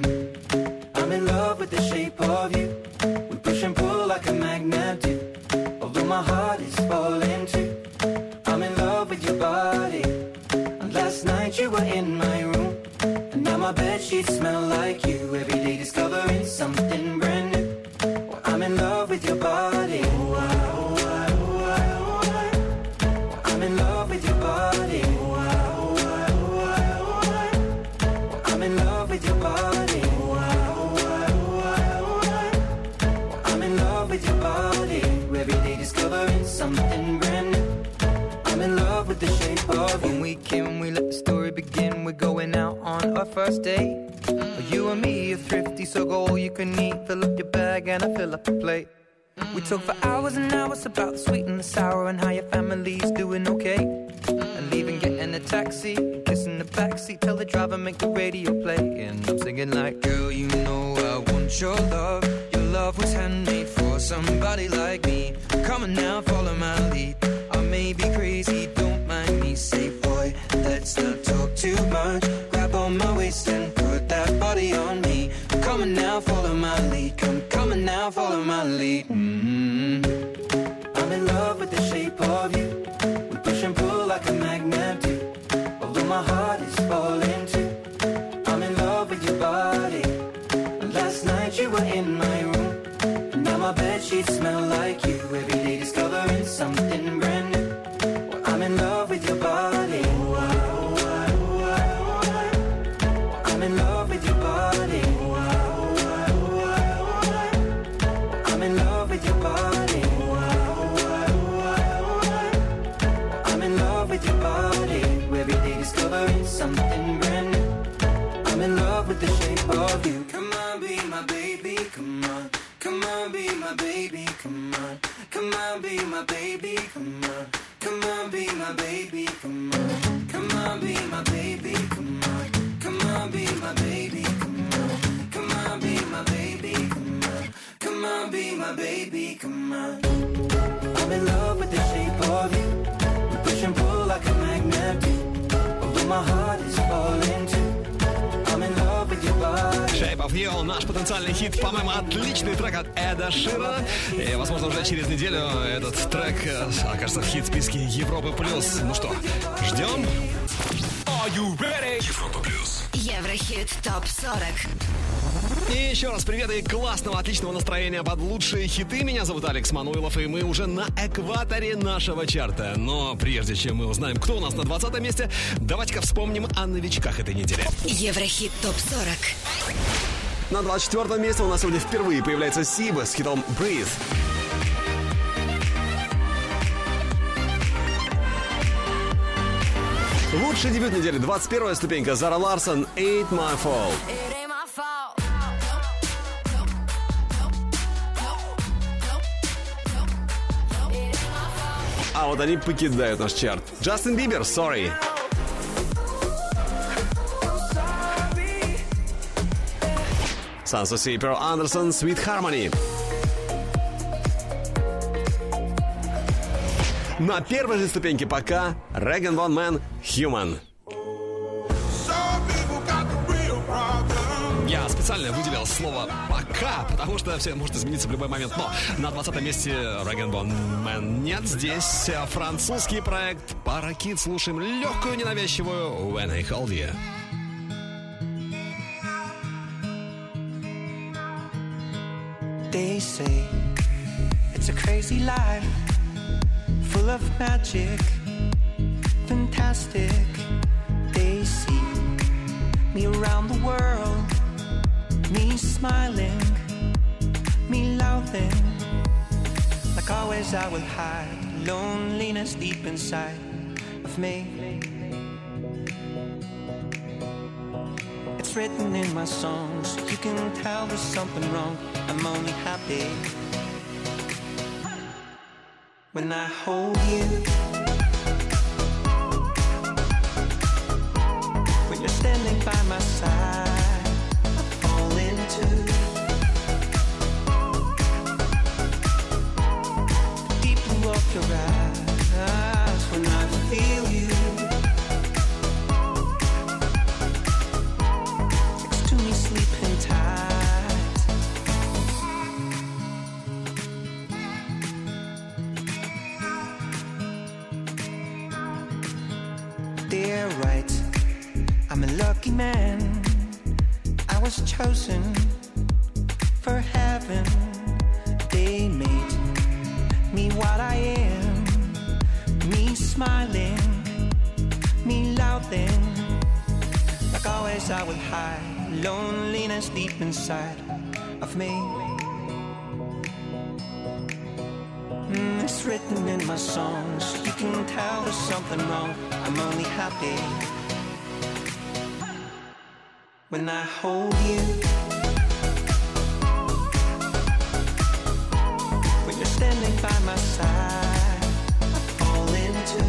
I'm in love with the shape of you. We push and pull like a magnet do. Although my heart is falling too. I'm in love with your body. And last night you were in my room. And now my bedsheets smell like you. Every day discovering something brand new. Well, I'm in love with your body. Oh, I, oh, I, oh, I, oh, I. Well, I'm in love with your body. Oh, I, oh, I, oh, I, oh, I. Well, I'm in love with your body. Oh, I, oh, I, oh, I, oh, I. Well, I'm in love with your body. Every day discovering something brand new. I'm in love with the shape of you. When we came, we let the story begin. We're going out on our first date. Mm. You and me are thrifty, so go all you can eat. Fill up your bag and I fill up the plate. Mm. We talk for hours and hours about the sweet and the sour and how your family's doing okay. Mm. And leaving, getting a taxi, kissing the backseat, tell the driver make the radio play. And I'm singing like, girl, you know I want your love. Your love was handmade for somebody like me. Come on now, follow my lead. I may be crazy, don't mind me. Say, boy, let's not talk too much. Grab on my waist and put that body on me. Come on now, follow my lead. Come, come on now, follow my lead. Mm-hmm. I'm in love with the shape of you. We push and pull like a magnet do. Although my heart is falling too. I'm in love with your body. And last night you were in my room. And now my bedsheets smell like you. Every day discovering something brand new. Well, I'm in love with your body. Oh, I, oh, I, oh, I, oh, I. Well, I'm in love with your body. Oh, I, oh, I, oh, I, oh, I. Well, I'm in love with your body. Oh, I, oh, I, oh, I, oh, I. Well, I'm in love with your body. Every day discovering something brand new. I'm in love with the shape of you. Come on, be my baby, come on. Come on, be my baby, come on. Come on, be my baby, come on. Come on, be my baby, come on. Come on, be my baby, come on. Come on, be my baby, come on. Come on, be my baby, come on. Come on, be my baby, come on. I'm in love with the shape of you. We push and pull like a magnet do. Although my heart is falling too. I'm in love with your body. Shape of You, наш потенциальный хит, по-моему, отличный трек от Эда Ширана. И, возможно, уже через неделю этот трек э, окажется в хит-списке Европы плюс. Ну что, ждем? Are you ready? Европа плюс. Еврохит топ сорок. И еще раз привет и классного, отличного настроения под лучшие хиты. Меня зовут Алекс Мануилов, и мы уже на экваторе нашего чарта. Но прежде чем мы узнаем, кто у нас на двадцатом месте, давайте-ка вспомним о новичках этой недели. Еврохит топ сорок. На двадцать четвёртом месте у нас сегодня впервые появляется Сиба с хитом «Breathe». Лучший дебют недели, двадцать первая ступенька, Зара Ларсон, «Ain't My Fault». А вот они покидают наш чарт. Джастин Бибер, «Sorry». Санс оф Си, Перл Андерсон, «Sweet Harmony». На первой же ступеньке пока Реган Ван Мэн, «Human». Я специально выделил слово «пока», потому что все может измениться в любой момент. Но на двадцатом месте Реган Ван Мэн нет. Здесь французский проект «Паракит». Слушаем легкую, ненавязчивую «When I Hold You». They say it's a crazy life, full of magic, fantastic. They see me around the world, me smiling, me laughing. Like always I will hide loneliness deep inside of me. It's written in my songs, you can tell there's something wrong. I'm only happy when I hold you, when you're standing by my side. I fall into the deep blue of your eyes when I feel you next to me sleeping tight. They're right, I'm a lucky man. I was chosen for heaven. They made me what I am. Me smiling, me laughing. Like always I will hide loneliness deep inside of me. Mm, it's written in my songs, you can tell there's something wrong. I'm only happy when I hold you, when you're standing by my side. I fall into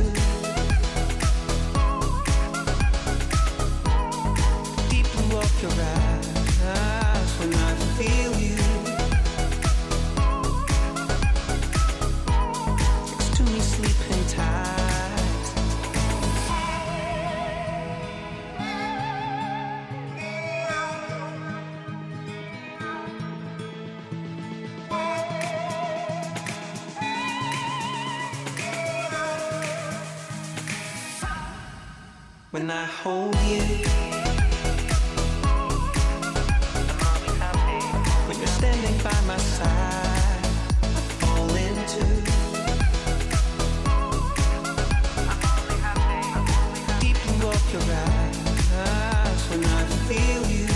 the deep blue of your eyes when I feel you next to me sleeping tight. When I hold you, when you're standing by my side, I fall into deep blue of your eyes when I feel you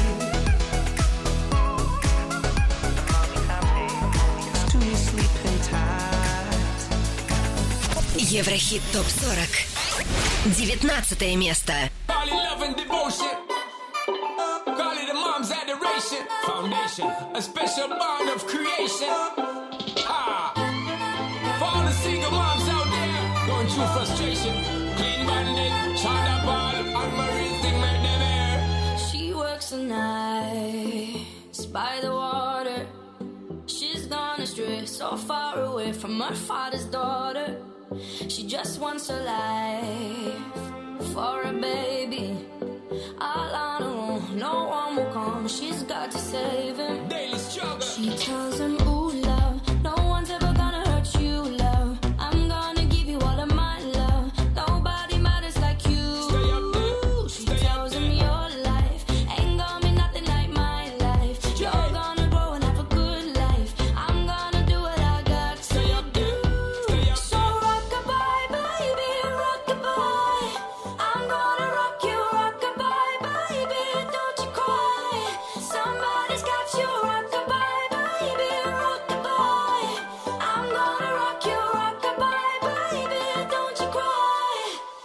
next to me sleeping tight. Еврохит топ сорок. девятнадцатое место. Call it love and devotion. Call it a mom's adoration. Foundation, a special bond of creation. Ah, for all the single moms out there going through frustration. Clean bandit, China ball, and Marie thing make them air. She works the nights by the water. She's gone astray, so far away from her father's daughter. She just wants a life for a baby, all on her own, no one will come. She's got to save him. Daily struggle. She tells him, ooh, love, no one's ever gonna hurt you, love. I'm gonna give you all of my love. Nobody matters like you. Stay up there. She Stay tells up him there. your life ain't gonna be nothing like my life. You're gonna grow and have a good life. I'm gonna do what I got to Stay up there. Stay up so rock-a-bye, baby, rock-a-bye. I'm gonna rock you, rock-a-bye, baby, don't you cry. Somebody's got you, rock-a-bye, baby, rock-a-bye. I'm gonna rock you, rock-a-bye, baby, don't you cry.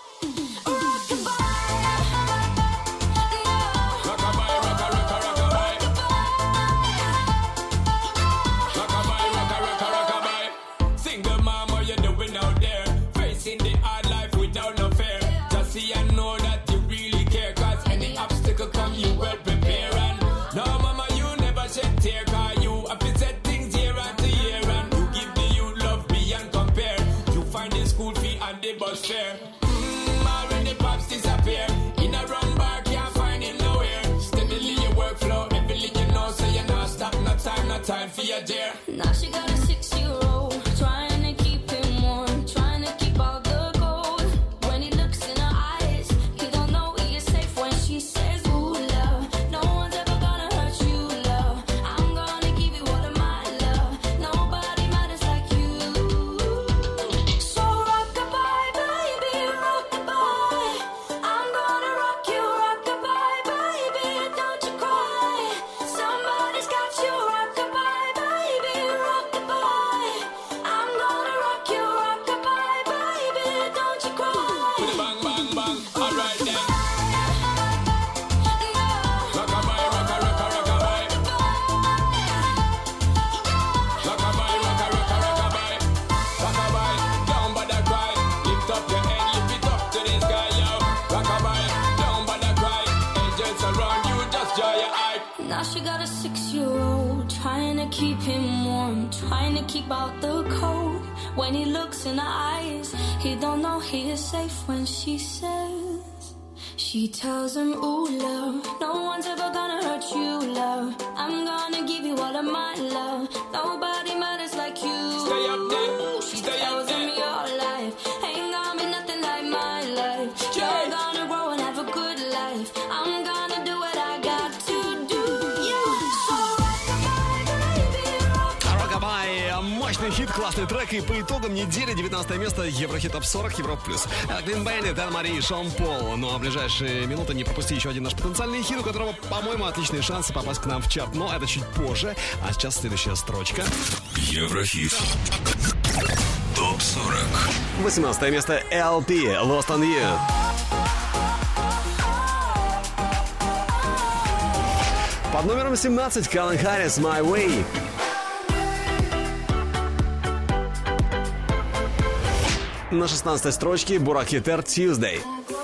Rock-a-bye, Rockabye, rocka, rocka, rockabye. Rockabye, rocka, rocka, rockabye. Single mom, what you doing out there? Facing the hard life without no fear. Just see and know that you really care. Cause any obstacle come, you well prepare. And no, mama, you never shed tear. Cause you have to set things year after year. And you give the youth love beyond compare. You find the school fee and the bus fare. Mmm, already pops disappear. In a run bar, can't find him nowhere. Steadily your workflow, everything you know, so you not stop, no time, no time for your dear. now she got a six-year-old, trying to keep him warm, trying to keep out the cold. When he looks in her eyes, he don't know he is safe when she says, ooh, love, no one's ever gonna hurt you, love. I'm gonna give you all of my love. Nobody matters like you. So rock-a-bye, baby, rock-a-bye. I'm gonna rock you, rock-a-bye, baby, don't you cry. Somebody's got you, rock-a-bye, baby, rock-a-bye. I'm gonna rock you, rock-a-bye, baby, don't you cry. With a bang, bang, bang, alright then. Rockabye, rocka, rocka, rockabye. Rockabye, rocka, rocka, rockabye. Rockabye, down by the cry. Lift up your head, lift it up to the sky, yo. Rockabye, down by the cry. Angels around you, just dry your eye. Now she got a six-year-old, trying to keep him warm, trying to keep out the cold. When he looks in her eyes, he don't know he is safe when she says. She tells him, ooh, love, no one's ever gonna hurt you, love. I'm gonna give you all of my love. Nobody matters like you. Stay up there, She stay up tells him there. your life ain't gonna be nothing like my life. You're gonna grow and have a good life. I'm gonna do what I got to do. So rock-a-bye, baby, rock-a-bye. Rockabye, мощный хит, классный трек. И по итогам недели девятнадцатое место Еврохит Топ сорок, Европа Плюс. Клин Беннет, Эн Мари, Шон Пол. Ну а в ближайшие минуты не пропусти еще один наш потенциальный эфир, у которого, по-моему, отличные шансы попасть к нам в чарт. Но это чуть позже. А сейчас следующая строчка. Еврохит. Топ сорок. восемнадцатое место эл пи, Lost on You. Под номером семнадцать Калвин Харрис, My Way. На шестнадцатой строчке Бурак Хитер, Tuesday.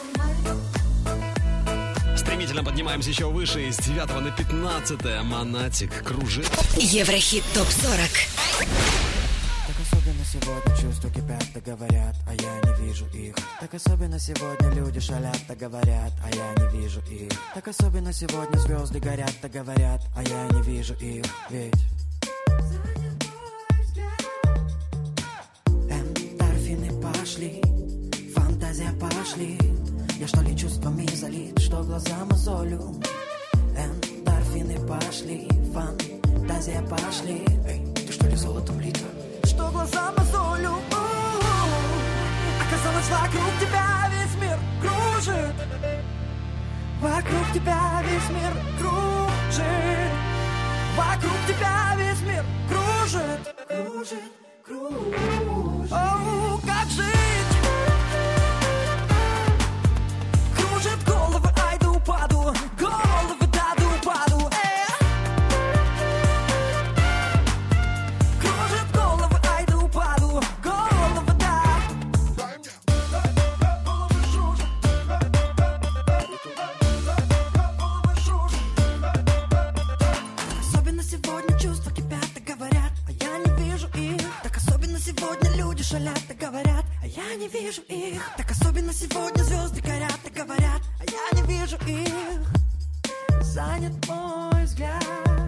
Стремительно поднимаемся еще выше, с девятого на пятнадцатое Монатик кружит. Еврохит топ сорок. Так особенно сегодня чувства кипят, так говорят, а я не вижу их. Так особенно сегодня люди шалят, так говорят, а я не вижу их. Так особенно сегодня звезды горят, так говорят, а я не вижу их. Ведь эндорфины пошли, фантазия пошли. Я что ли чувствами залит, что глаза мозолю. Эндорфины пошли, фантазия пошли. Эй, ты что ли золотом лита? Что глаза мозолю. Оказалось, вокруг тебя весь мир кружит. Вокруг тебя весь мир кружит. Вокруг тебя весь мир кружит. Кружит, кружит. Оу, как жить? Кружит головы, ай да упаду. Головы, да да упаду. Э. Кружит головы, ай да упаду. Головы, да. Особенно сегодня чувства кипят, так говорят, а я не вижу их. Так особенно сегодня люди шалят, так говорят, а я не вижу их. Так особенно сегодня звезды горят, так говорят, а я не вижу их. занят мой взгляд.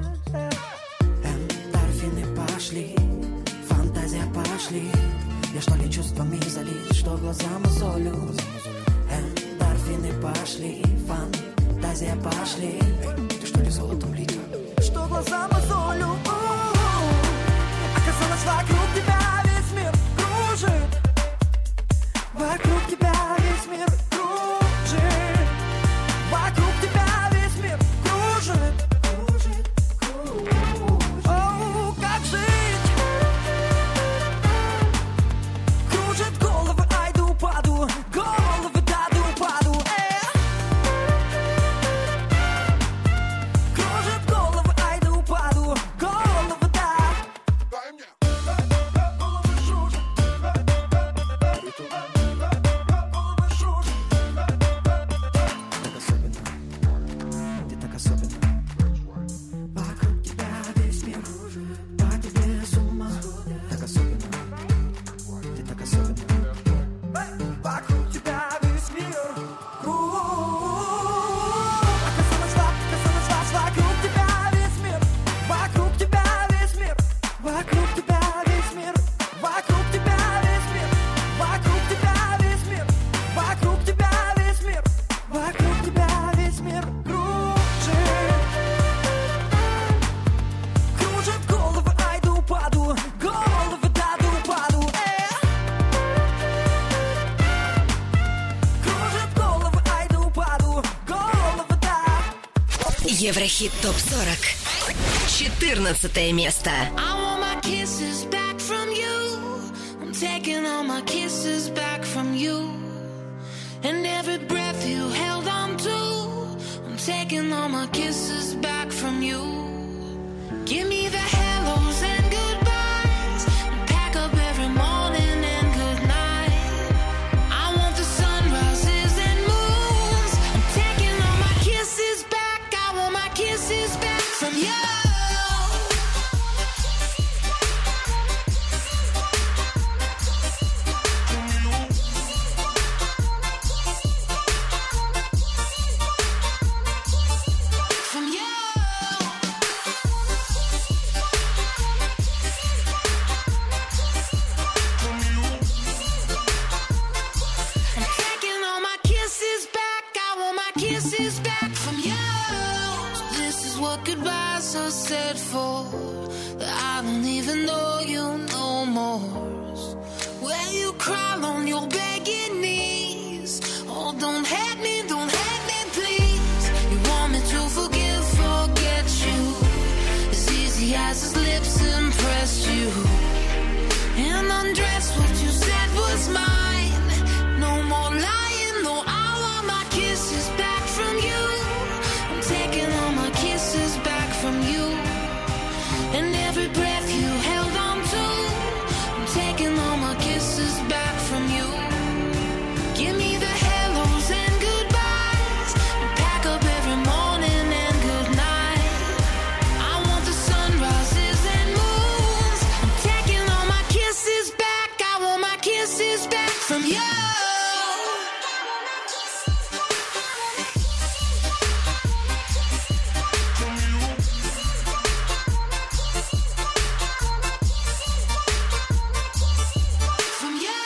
Эндорфины пошли, фантазия пошли. Я что ли чувствами залит, что глаза мозолю. Эндорфины пошли, фантазия пошли. Ты что ли золотом литер? Что глаза мозолю. Оказалось, вокруг тебя весь мир кружит. Вокруг тебя весь мир кружит. Вокруг тебя весь мир кружит. Кружит, кружит. Оу, как жить? Кружит головы, айду, паду. Головы, даду, паду. Э. Кружит головы, айду, паду. Головы, да. Ты так особенно. Вокруг тебя весь мир по тебе с ума. Так особенно. Ты так особенно. Вокруг тебя весь мир Оказалось, оказалось, вас вокруг тебя весь мир. Вокруг тебя весь мир. Вокруг тебя весь мир. Вокруг тебя весь мир. Вокруг тебя весь мир. Вокруг тебя весь мир. Вокруг тебя весь мир кружит. Кружит головы, айду, паду. Головы, даду, паду. Э. Кружит головы, айду, паду. Головы, да. Еврохит топ сорок. четырнадцатое место. I want my kisses back from you. I'm taking all my kisses back from you. And every breath you held on to, I'm taking all my kisses back from you. Give me the hellos and goodbyes, and pack up every morning and good night. I want the sunrises and moons. I'm taking all my kisses back. I want my kisses back from you. From you. I'm taking all my kisses back. I want my kisses back from you. This is what goodbyes are said for. That I don't even know you no more. Where you crawl on your begging knees. Oh, don't hate me, don't hate me, please. You want me to forgive, forget you. As easy as his lips impressed you. And undress what you said was mine. No more lying, no, I want my kisses back from you. I'm taking all my kisses back from you. And every breath you held on to, I'm taking all my kisses back from you. Give me the hellos and goodbyes, and pack up every morning and good night. I want the sunrises and moons. I'm taking all my kisses back. I want my kisses back from you. From you.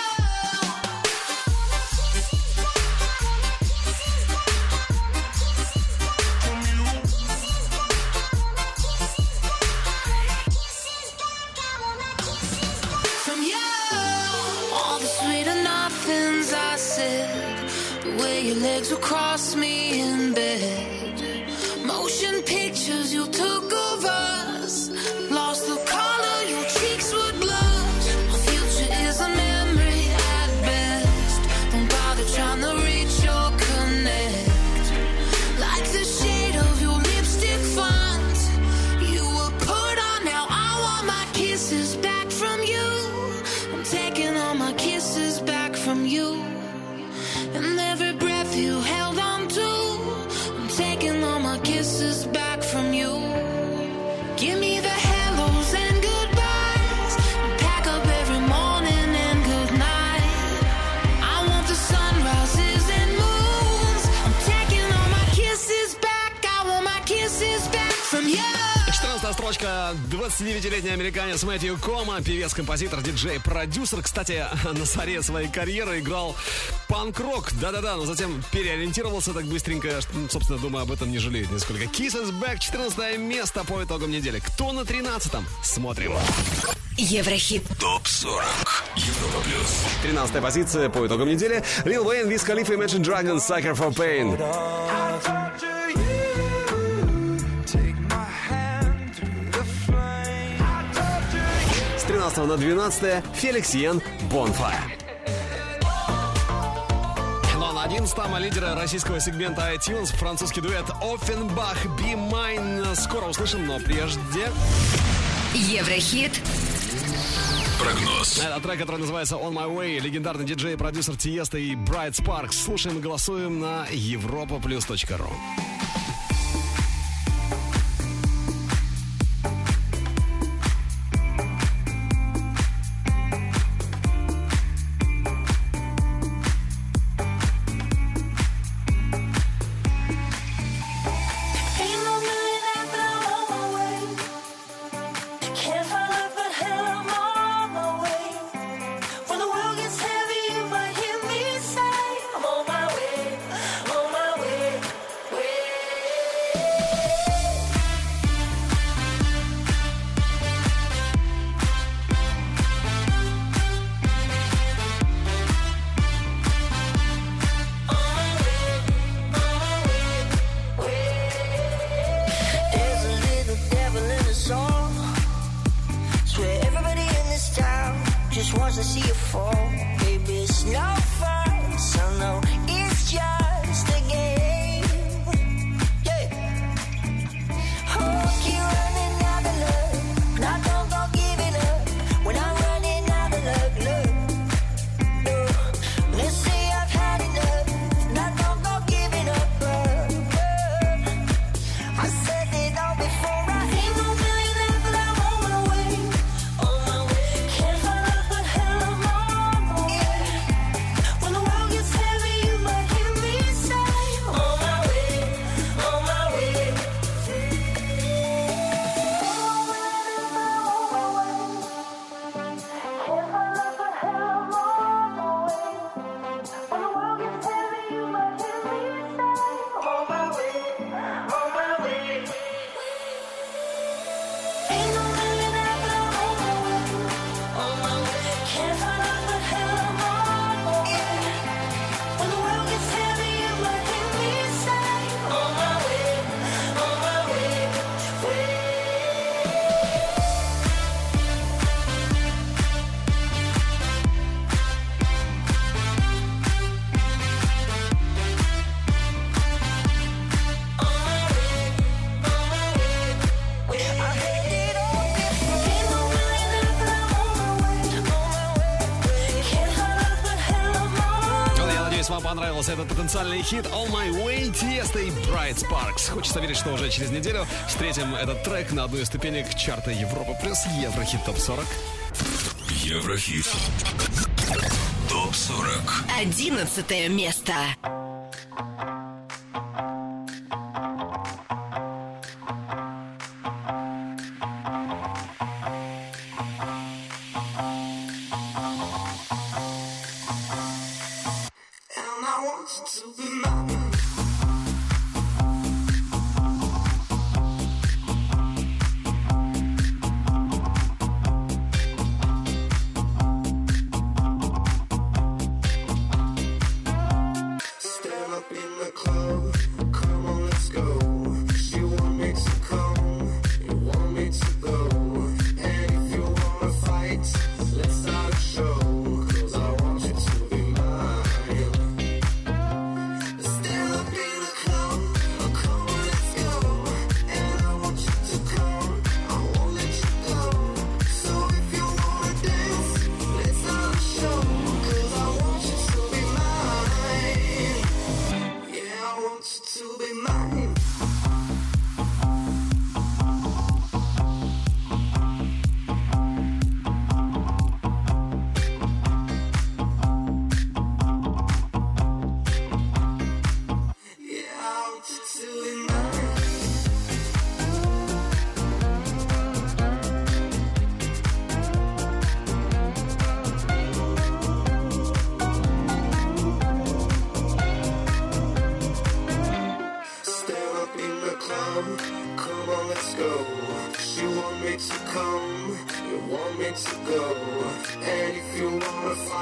From you. All the sweeter nothings I said. The way your legs would cross me in bed. Motion pictures you took of us. Lost the color, your cheeks would blush. Our future is a memory at best. Don't bother trying to reach or connect. Like the shade of your lipstick font. You were put on, now I want my kisses back from you. I'm taking all my kisses back from you. And every breath you held on to, I'm taking all my kisses back from you. двадцатидевятилетний американец Мэтью Кома, певец, композитор, диджей, продюсер. Кстати, на заре своей карьеры играл панк-рок. Да-да-да, но затем переориентировался так быстренько, что, собственно, думаю, об этом не жалеет нисколько. Kiss is Back, четырнадцатое место по итогам недели. Кто на тринадцатом? Смотрим. Еврохит. ТОП сорок. Европа плюс. тринадцатая позиция по итогам недели. Lil Wayne, Wiz Khalifa, Imagine Dragons, Sucker for Pain. С тринадцатого на двенадцатое Феликс Йен, Bonfire. Но на одиннадцатом лидера российского сегмента iTunes французский дуэт Offenbach, Be Mine. Скоро услышим, но прежде... Еврохит. Прогноз. Это трек, который называется On My Way. Легендарный диджей и продюсер Тиеста и Bright Sparks. Слушаем и голосуем на европа плюс точка ру. Понравился этот потенциальный хит On My Way, Тиеста и Bright Sparks. Хочется верить, что уже через неделю встретим этот трек на одной из ступенек чарта Европа плюс Еврохит топ сорок. Еврохит топ сорок. Одиннадцатое место. Stay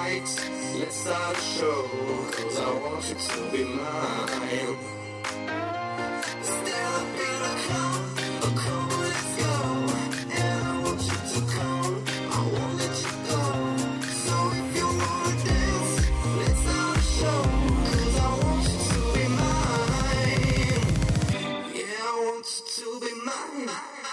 lights, let's start a show, 'cause I want you to be mine. Stand up in a car, a car, let's go. And I want you to come, I won't let you go. So if you wanna dance, let's start a show, 'cause I want you to be mine. Yeah, I want you to be mine.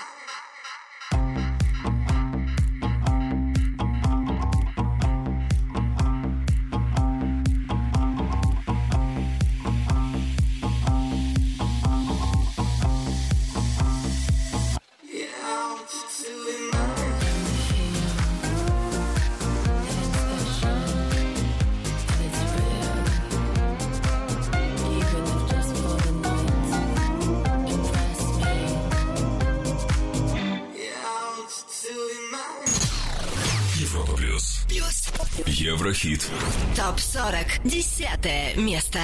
Европа плюс. Плюс. Еврохит. Топ сорок. Десятое место.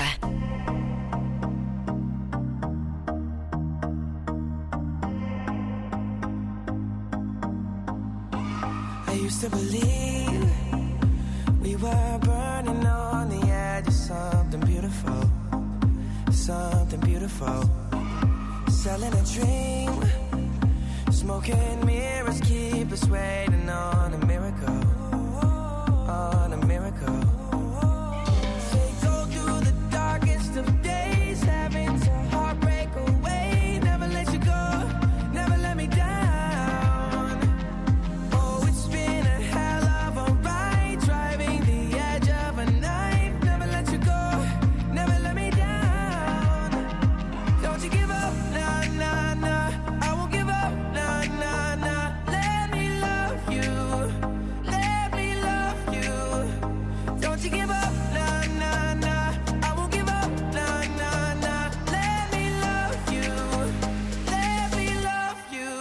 I used to believe we were burning on the edge of something beautiful, something beautiful. Selling a dream, smoking mirrors keep us waiting on a miracle, on a miracle. Say go through the darkest of days, having to heartbreak away. Never let you go, never let me down. Oh, it's been a hell of a ride, driving the edge of a knife. Never let you go, never let me down. Don't you give up, nah, nah, nah. I won't give up, nah, nah, nah. Let me love you, let me love you. Don't you give up, nah, nah, nah. I won't give up, nah, nah, nah. Let me love you, let me love you.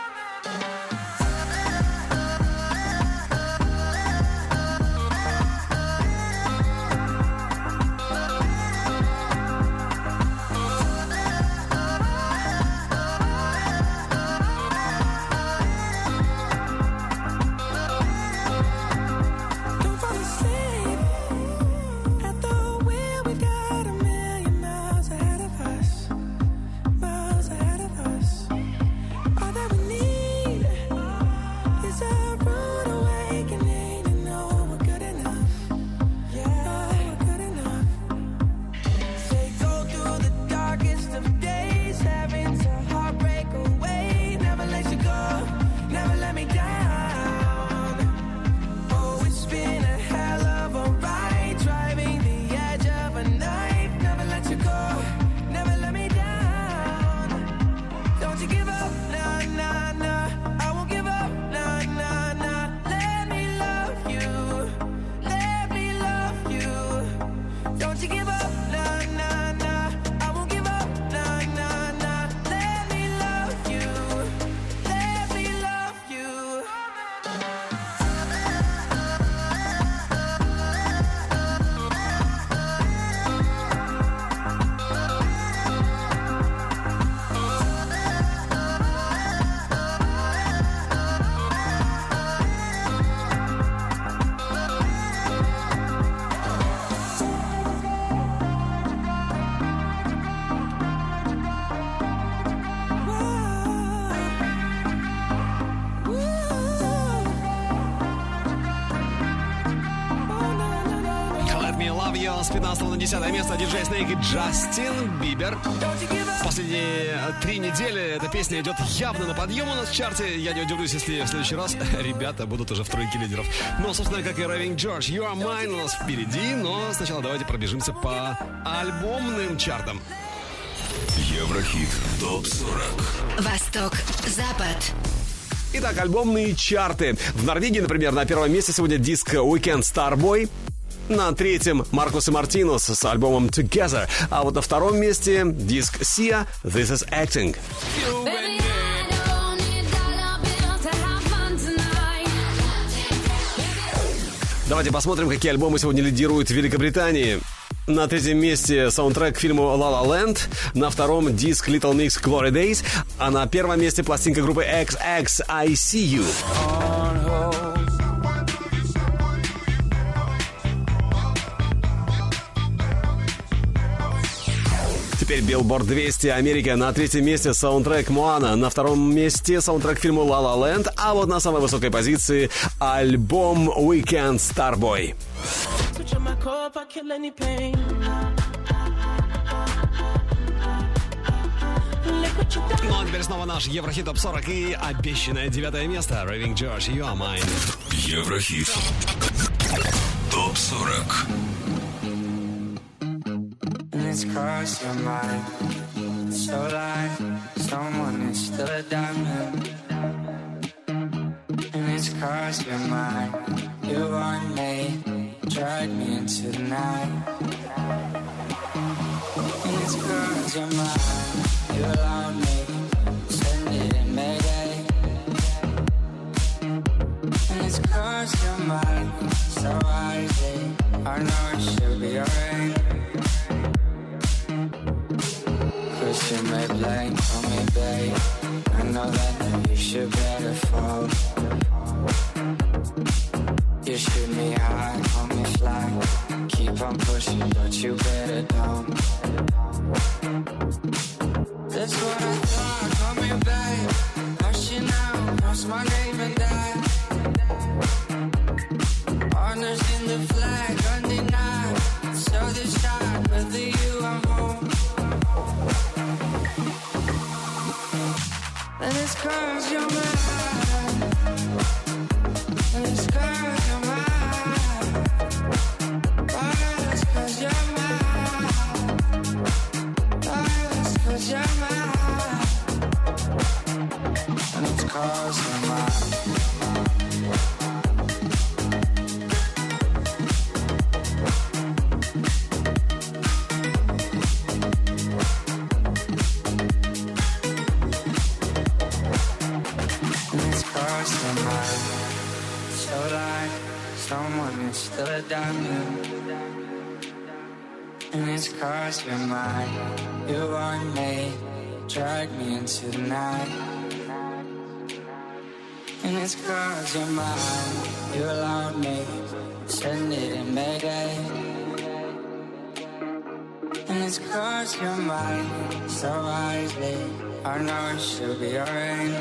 Don't fall asleep at the wheel. We've got a million miles ahead of us, miles ahead of us. All that we need is a rude awakening to know we're good enough. Yeah, we're good enough. Say go through the darkest of days, having to heartbreak away. Never let you go, never let me down. Oh, it's been a hell of a ride, driving the edge of a knife. Never let you go, never let me down. Don't you give up, nah, nah, nah. I won't give up, nah, nah, nah. Let me love you, let me love you. Don't you give up, nah, nah, nah. I won't give up, nah, nah, nah. Let me love you, let me love you. Let Me Love You с пятнадцатого на десятое место. Диджей Снейк и Джастин Бибер. Последние три недели эта песня идет явно на подъем у нас в чарте. Я не удивлюсь, если в следующий раз ребята будут уже в тройке лидеров. Но, собственно, как и Raving George, You Are Mine у нас впереди. Но сначала давайте пробежимся по альбомным чартам. Еврохит топ сорок. Восток, Запад. Итак, альбомные чарты. В Норвегии, например, на первом месте сегодня диск Weekend Starboy. На третьем Маркус и Мартинус с альбомом Together. А вот на втором месте диск Sia This Is Acting. Давайте посмотрим, какие альбомы сегодня лидируют в Великобритании. На третьем месте саундтрек к фильму La La Land. На втором диск Little Mix Glory Days. А на первом месте пластинка группы икс икс I See You. Теперь Billboard двести Америка. На третьем месте саундтрек Моана. На втором месте саундтрек к фильму La La Land. А вот на самой высокой позиции альбом Weekend Starboy. Switch on my core if I kill any pain. Ну а теперь снова наш Еврохит Топ сорок и обещанное девятое место. Raving George, You Are Mine. Еврохит Топ сорок. And it's crossed your mind. So like someone is still a diamond. And it's crossed your mind. You want me, drag me into the night. And it's crossed your mind. You allowed me, send it in Mayday. And it's crossed your mind. So wisely, I know it should be alright. Cause you may blame, call me babe. I know that you should better fall. You shoot me high, call me fly. Keep on pushing, but you better don't. That's what I thought, call me babe. Hush you now, cross my name and die. Honors in the flag, undenied. So this time, whether you are home. And it's cause you're mine. And it's cause you're mine. Oh, it's cause you're mine. Oh, it's cause you're mine. And it's cause you're mine. Someone is still a diamond. And it's cause you're mine. You want me, drag me into the night. And it's cause you're mine. You allowed me, send it in Mayday. And it's cause you're mine. So wisely, I know it should be alright.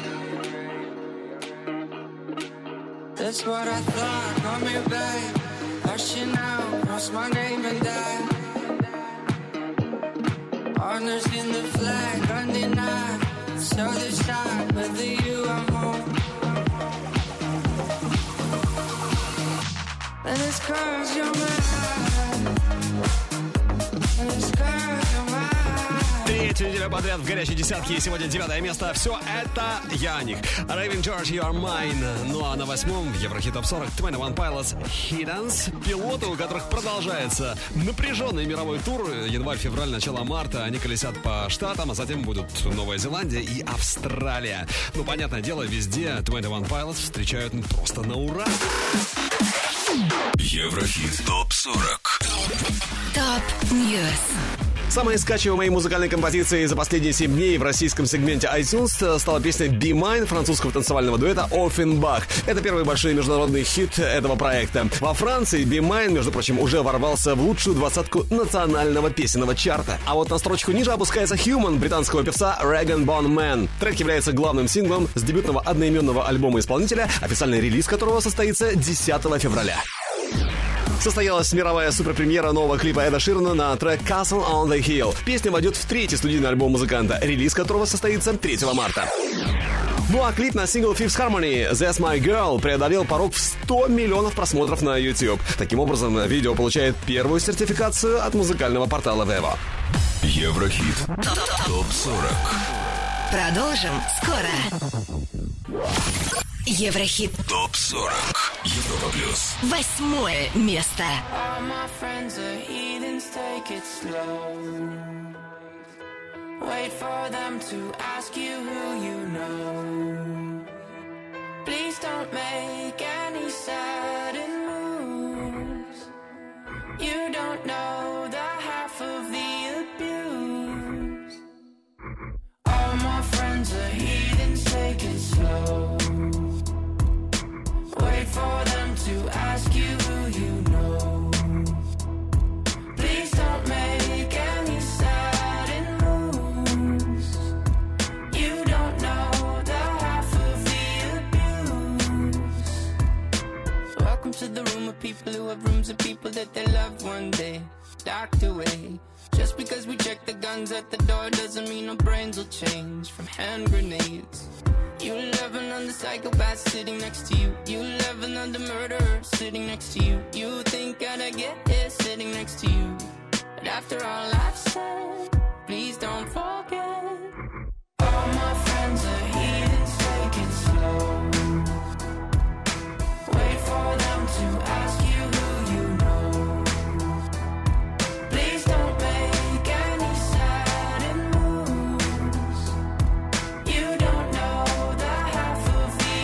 That's what I thought, call me babe. Hush you now, cross my name and die. Honors in the flag, undenied. So this time, whether you are home. And it's cause you're mine. And it's cause you're mine. Третью неделю подряд в горячей десятке. И сегодня девятое место. Все это я о них. Raving George, You Are Mine. Ну а на восьмом в Еврохит Топ сорок двадцать один Pilots Hiddens. Пилоты, у которых продолжается напряженный мировой тур. Январь-февраль, начало марта. Они колесят по штатам, а затем будут Новая Зеландия и Австралия. Ну, понятное дело, везде двадцать один Pilots встречают просто на ура. Еврохит Топ сорок. Топ Ньюс. Самой скачиваемой музыкальной композицией за последние семь дней в российском сегменте iTunes стала песня Be Mine французского танцевального дуэта Offenbach. Это первый большой международный хит этого проекта. Во Франции Be Mine, между прочим, уже ворвался в лучшую двадцатку национального песенного чарта. А вот на строчку ниже опускается Human британского певца Rag and Bone Man. Трек является главным синглом с дебютного одноименного альбома исполнителя, официальный релиз которого состоится десятого февраля. Состоялась мировая суперпремьера нового клипа Эда Ширана на трек Castle on the Hill. Песня войдет в третий студийный альбом музыканта, релиз которого состоится третьего марта. Ну а клип на сингл Fifth Harmony That's My Girl преодолел порог в сто миллионов просмотров на YouTube. Таким образом, видео получает первую сертификацию от музыкального портала Vevo. Еврохит Топ сорок. Продолжим скоро. Еврохит Топ сорок. Европа плюс. Восьмое место. All my friends are heathens, take it slow. Wait for them to ask you who you know. Please don't make any sudden moves. You don't know the half of the abuse. All my friends are heathens, take it slow. Wait for them to ask you who you know. Please don't make any sudden moves. room with people who have rooms of people that they love one day docked away. Just because we check the guns at the door doesn't mean our brains will change from hand grenades. You love another psychopath sitting next to you. You love another murderer sitting next to you. You think I'd get here sitting next to you. But after all I've said, please don't forget. All my friends are heathens, take it slow. Wait for them to ask you who you know. Please don't make any sudden moves. You don't know the half of the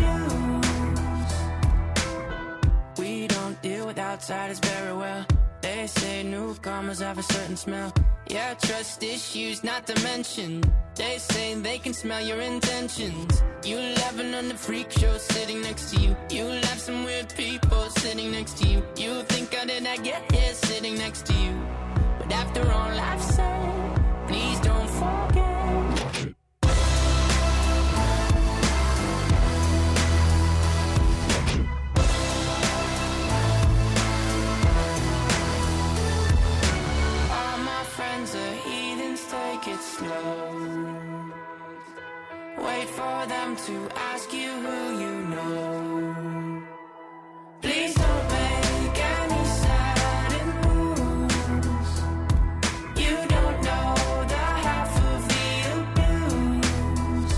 abuse. We don't deal with outsiders very well. They say newcomers have a certain smell. Yeah, trust issues not to mention. They say they can smell your intentions. You laughing on the freak show sitting next to you. You laugh some weird people sitting next to you. You think how did I get here sitting next to you? But after all I've said, please don't forget. Take it slow. Wait for them to ask you who you know. Please don't make any sudden moves. You don't know the half of the abuse.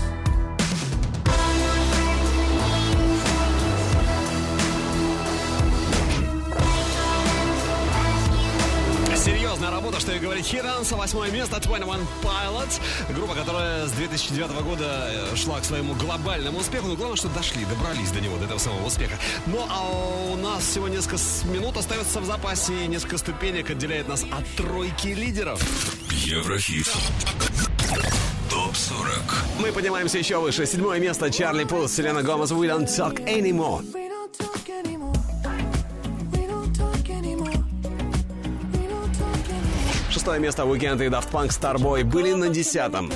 Серьезная работа, что и говорить. Хиранса, восьмое место, двадцать один Pilots. Группа, которая с две тысячи девятого года шла к своему глобальному успеху. Но главное, что дошли, добрались до него, до этого самого успеха. Ну, а у нас всего несколько минут остается в запасе. И несколько ступенек отделяет нас от тройки лидеров. Еврохит. топ сорок. Мы поднимаемся еще выше. Седьмое место. Чарли Пус, Селена Гомес, We Don't Talk Anymore. Шестое место. Weekend и Daft Punk, Starboy были на десятом.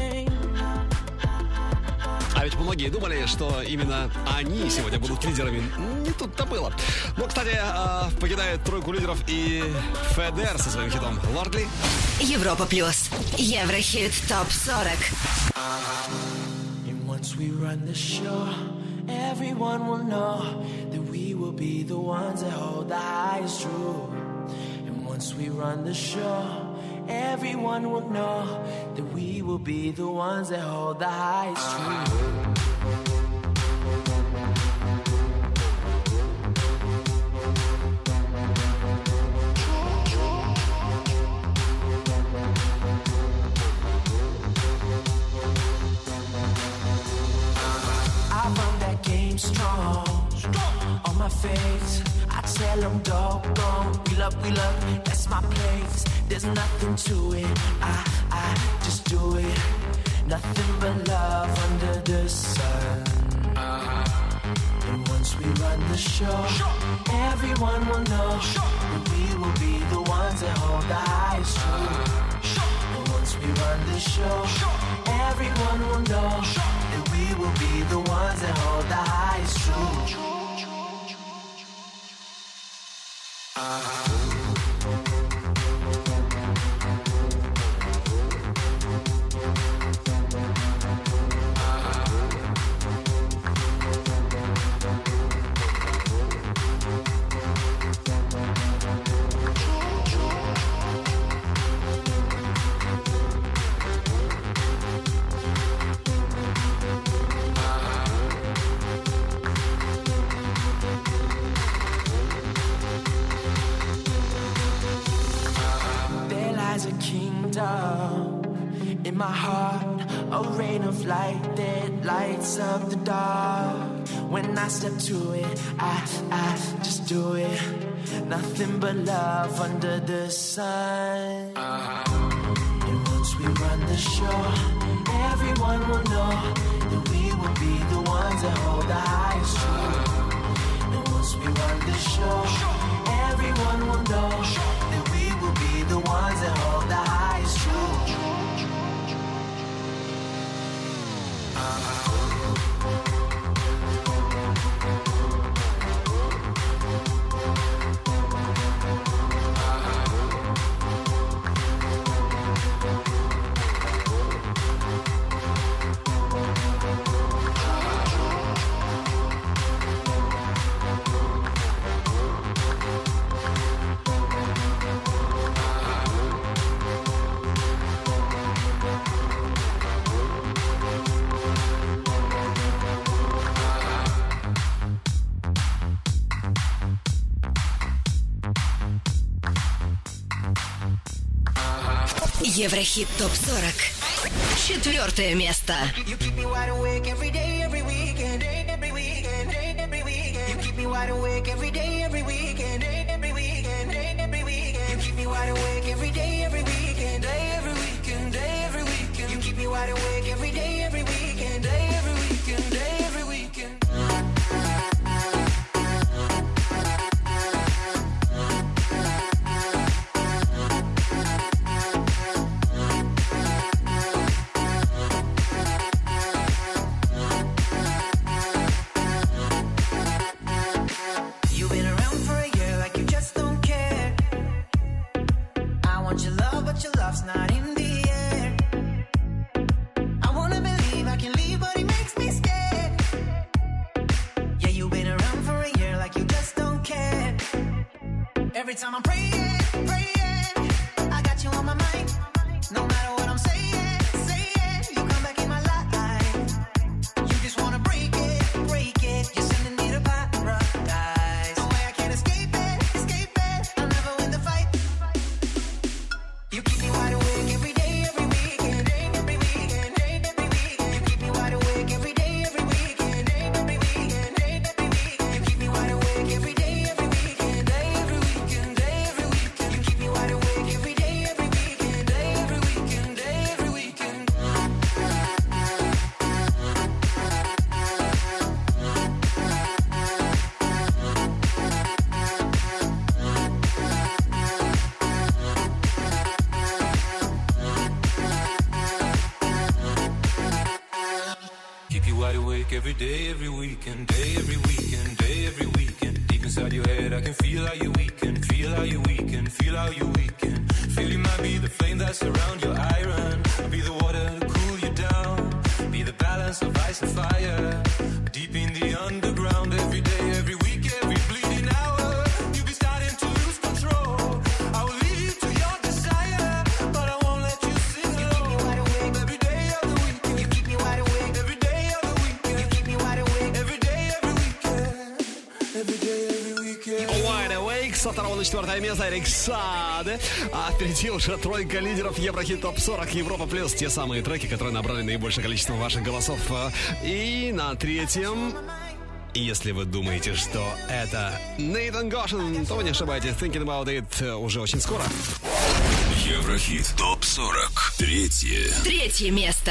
А ведь многие думали, что именно они сегодня будут лидерами. Не тут-то было. Ну, кстати, покидает тройку лидеров и Федер со своим хитом Lordly. Европа плюс. Еврохит топ сорок. And once we run the show, everyone will know that we will be the ones that hold the highest truth. And once we run the show, everyone will know that we will be the ones that hold the highest truth. I run that game strong, on my face. I tell them doggone, we love, we love, that's my place. There's nothing to it, I, I just do it. Nothing but love under the sun. And once we run the show, everyone will know that we will be the ones that hold the highest truth. And once we run the show, everyone will know that we will be the ones that hold the highest truth. In my heart, a rain of light that lights up the dark. When I step to it, I, I just do it. Nothing but love under the sun. And once we run the show, everyone will know that we will be the ones that hold the highest truth. And once we run the show, everyone will know that we will be the ones that hold the highest truth. Еврохит топ сорок. Четвертое место. You keep me wide awake every day, every weekend, every weekend, every weekend. You keep me wide awake every day, every weekend, every weekend, every weekend. You keep me wide awake every day, every weekend, day every weekend, day every weekend. You keep me wide awake every day, every weekend, day every weekend, day every weekend. You've been around for a year like you just don't care. I want your love, but your love's not in the air. I wanna believe I can leave, but it makes me scared. Yeah, you've been around for a year like you just don't care. Every time I'm praying, praying, I got you on my mind. No matter what I'm saying, saying, you come back in my life. You just wanna break it, break it. You're sending me to paradise. No way I can't escape it, escape it. I'll never win the fight. You keep me wide awake every day, every weekend, every weekend, every weekend. You keep me wide awake every day, every weekend, every weekend, every weekend. You keep me wide awake every day, every weekend, day every weekend, day every weekend. You keep me wide awake every day, every weekend, day every weekend, day every weekend. Keep you wide awake every day, every weekend, day, every weekend, day, every weekend. Deep inside your head, I can feel how you weaken, feel how you weaken, feel how you weaken. Feel you might be the flame that surround your iron. I'll be the water to cool you down. Be the balance of ice and fire. Deep in the underground, every day, every week, every bleeding hour. You'll be starting to lose control. I will lead you to your desire, but I won't let you sing alone. Every day of the weekend, you keep me wide awake. Every day of the weekend, you keep me wide awake. Every day, every weekend, every day, every weekend. Wide Awake со второго на четвертое место Эрик Саде. А впереди уже тройка лидеров Еврохит топ сорок Европа плюс. Те самые треки, которые набрали наибольшее количество ваших голосов. И на третьем, если вы думаете, что это Нейтан Гошин, то вы не ошибаетесь. Thinking About It уже очень скоро. Еврохит топ сорок. Третье. Третье место.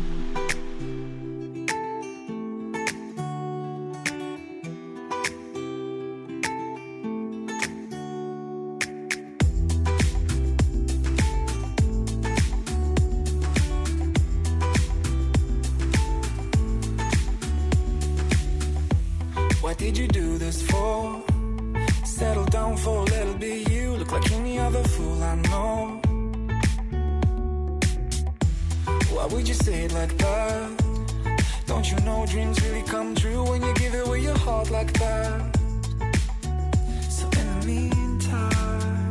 What did you do this for? Settle down for a little bit. You look like any other fool I know. Why would you say it like that? Don't you know dreams really come true when you give away your heart like that? So in the meantime,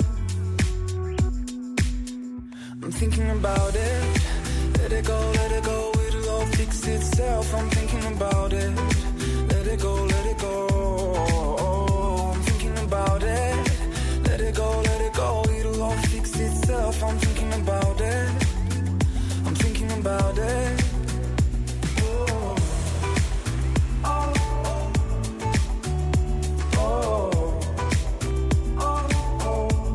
I'm thinking about it. Let it go, let it go, it'll all fix itself. I'm thinking about it. Let it go, let it go. I'm thinking about it. Let it go, let it go. It'll all fix itself. I'm thinking about it. I'm thinking about it. Oh. Oh. Oh. Oh. Oh.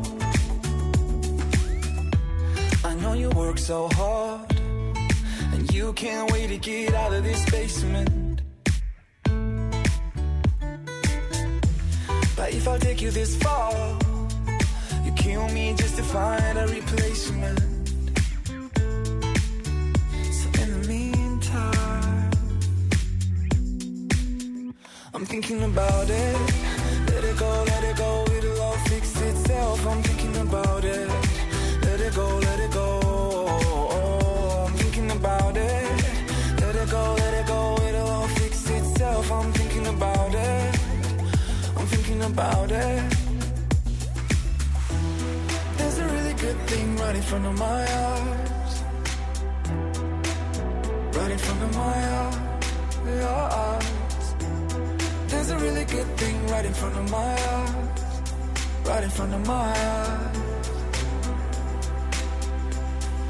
I know you work so hard, and you can't wait to get out of this basement. But if I take you this far, you kill me just to find a replacement. So in the meantime, I'm thinking about it. Let it go, let it go, it'll all fix itself. I'm thinking about it. Let it go, let it go. I'm thinking about it. Let it go, let it go, it'll all fix itself. I'm thinking about it. I'm thinking about it. There's a really good thing right in front of my eyes. Right in front of my eyes. There's a really good thing right in front of my eyes. Right in front of my eyes.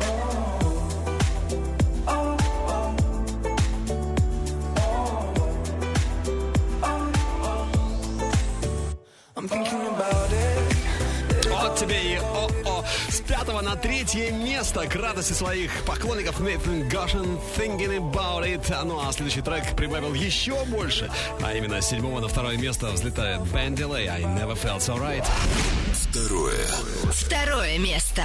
I'm thinking about it. Вот тебе и о-о. С пятого на третье место к радости своих поклонников Nathan Goshen Thinking About It. Ну а следующий трек прибавил еще больше. А именно с седьмого на второе место взлетает Ben Delay I Never Felt So Right. Второе. Второе место.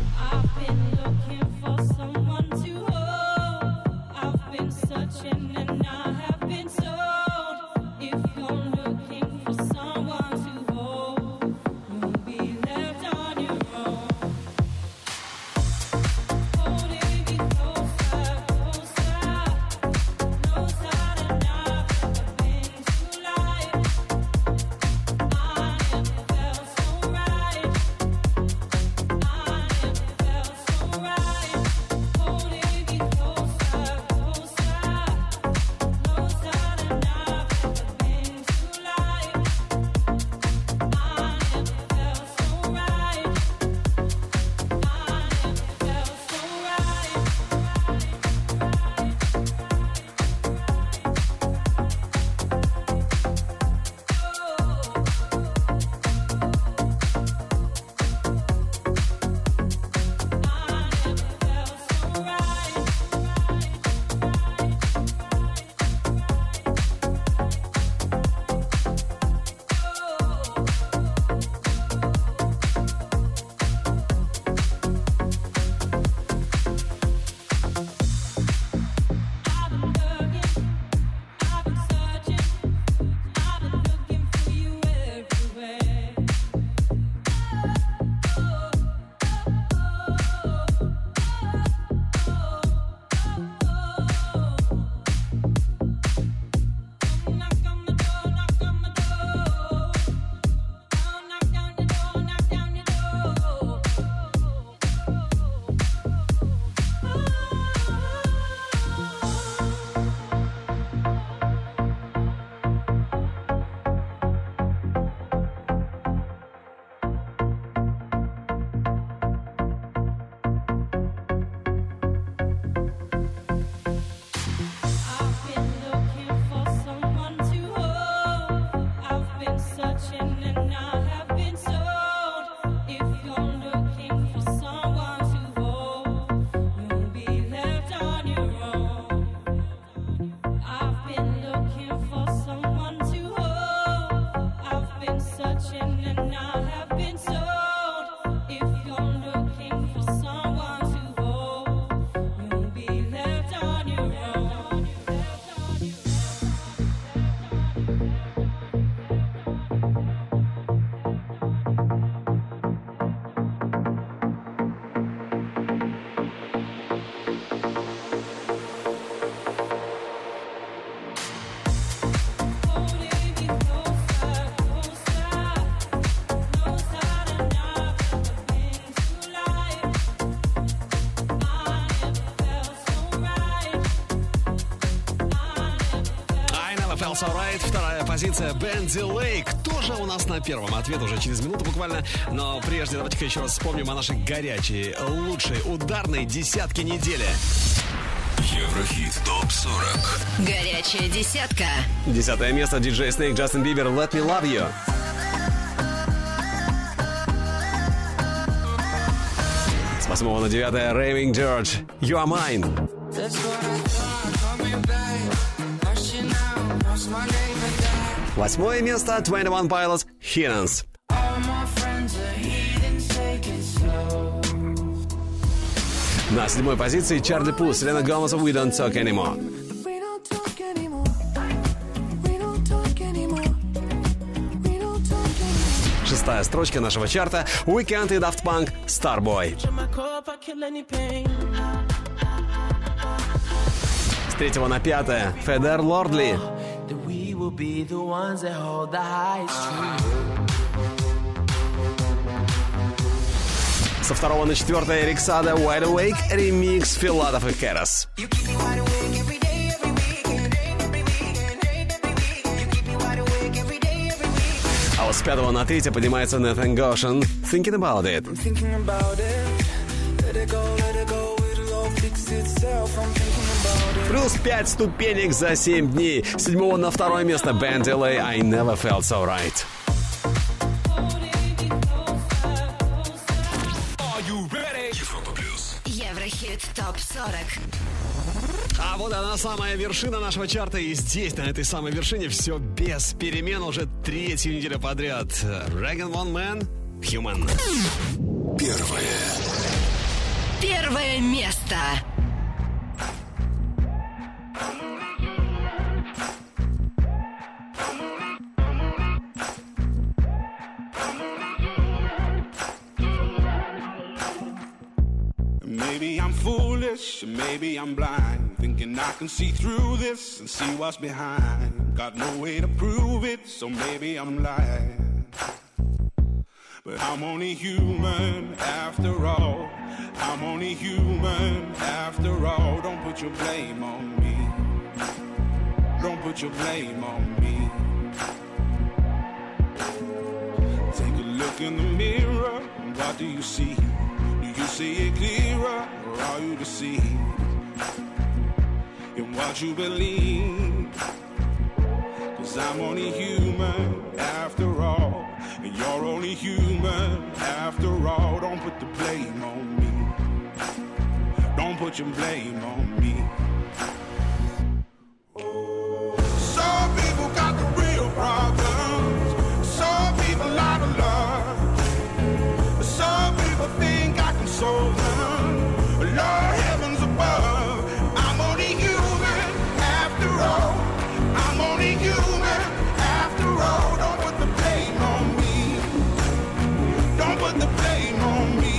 Feels Alright, вторая позиция Ben Delay. Кто же у нас на первом? Ответ уже через минуту буквально. Но прежде давайте-ка еще раз вспомним о нашей горячей, лучшей ударной десятке недели. Еврохит топ сорок. Горячая десятка. Десятое место. диджей Snake, Justin Bieber, Let Me Love You. С восьмого на девятое Raving George, You Are Mine. Восьмое место. двадцать один Pilots, Heathens. На седьмой позиции Чарли Пус, Селена Гомес, We Don't Talk Anymore. Шестая строчка нашего чарта Weekend и Daft Punk, Starboy. С третьего на пятое Федер Лордли. Со второго на четвертое Эрик Сада Wide Awake, ремикс Филатов и Керас. А вот с пятого на третье поднимается Nathan Goshen Thinking About It. Плюс пять ступенек за семь дней. С седьмого на второе место Ben Delay I Never Felt So Right. Еврохит топ сорок. А вот она, самая вершина нашего чарта. И здесь, на этой самой вершине, все без перемен уже третью неделю подряд. Rag and Bone Man, Human. Первое. Первое место. Maybe I'm foolish, maybe I'm blind, thinking I can see through this and see what's behind. Got no way to prove it, so maybe I'm lying. But I'm only human after all. I'm only human after all. Don't put your blame on me. Don't put your blame on me. Take a look in the mirror, and what do you see? Do you see it clearer, or are you deceived in what you believe? 'Cause I'm only human after all, and you're only human after all. Don't put the blame on me. Don't put your blame on me. Some people got the real problems. Some people out of love. Some people think I can solve them. Lord heavens above, I'm only human after all. I'm only human after all. Don't put the blame on me. Don't put the blame on me.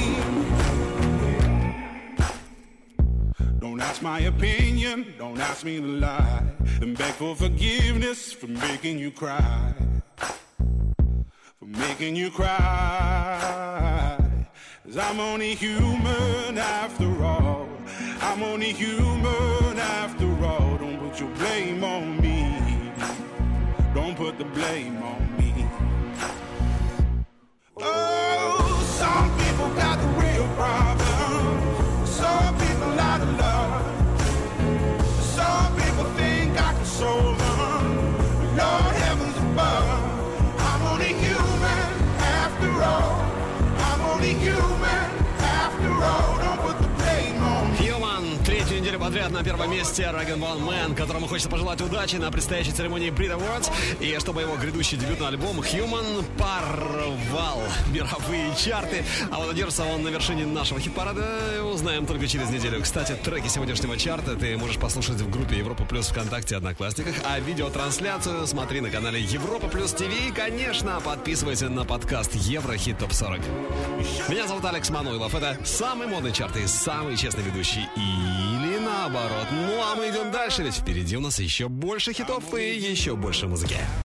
Don't ask my opinion, don't ask me to lie, and beg for forgiveness for making you cry. For making you cry. 'Cause I'm only human after all. I'm only human after all. Don't put your blame on me. Don't put the blame on me. Oh, some people got the real problems. Some people out of love. Some people think I can solve them. Lord heavens above, I'm only human after all. I'm only human after all. Don't put the blame on me. Human. Третью неделю подряд на первом месте Rag and Bone Man, которому хочется пожелать удачи на предстоящей церемонии Brit Awards. И чтобы его грядущий дебютный альбом Human порвал мировые чарты. А вот держится он на вершине нашего хит-парада, узнаем только через неделю. Кстати, треки сегодняшнего чарта ты можешь послушать в группе Европа Плюс ВКонтакте, Одноклассниках. А видеотрансляцию смотри на канале Европа Плюс ТВ. И, конечно, подписывайся на подкаст Еврохит топ сорок. Меня зовут Алекс Мануилов. Это самый модный чарт и самый честный ведущий. Или наоборот. Ну а мы идем дальше, ведь впереди у нас еще больше хитов и еще больше музыки.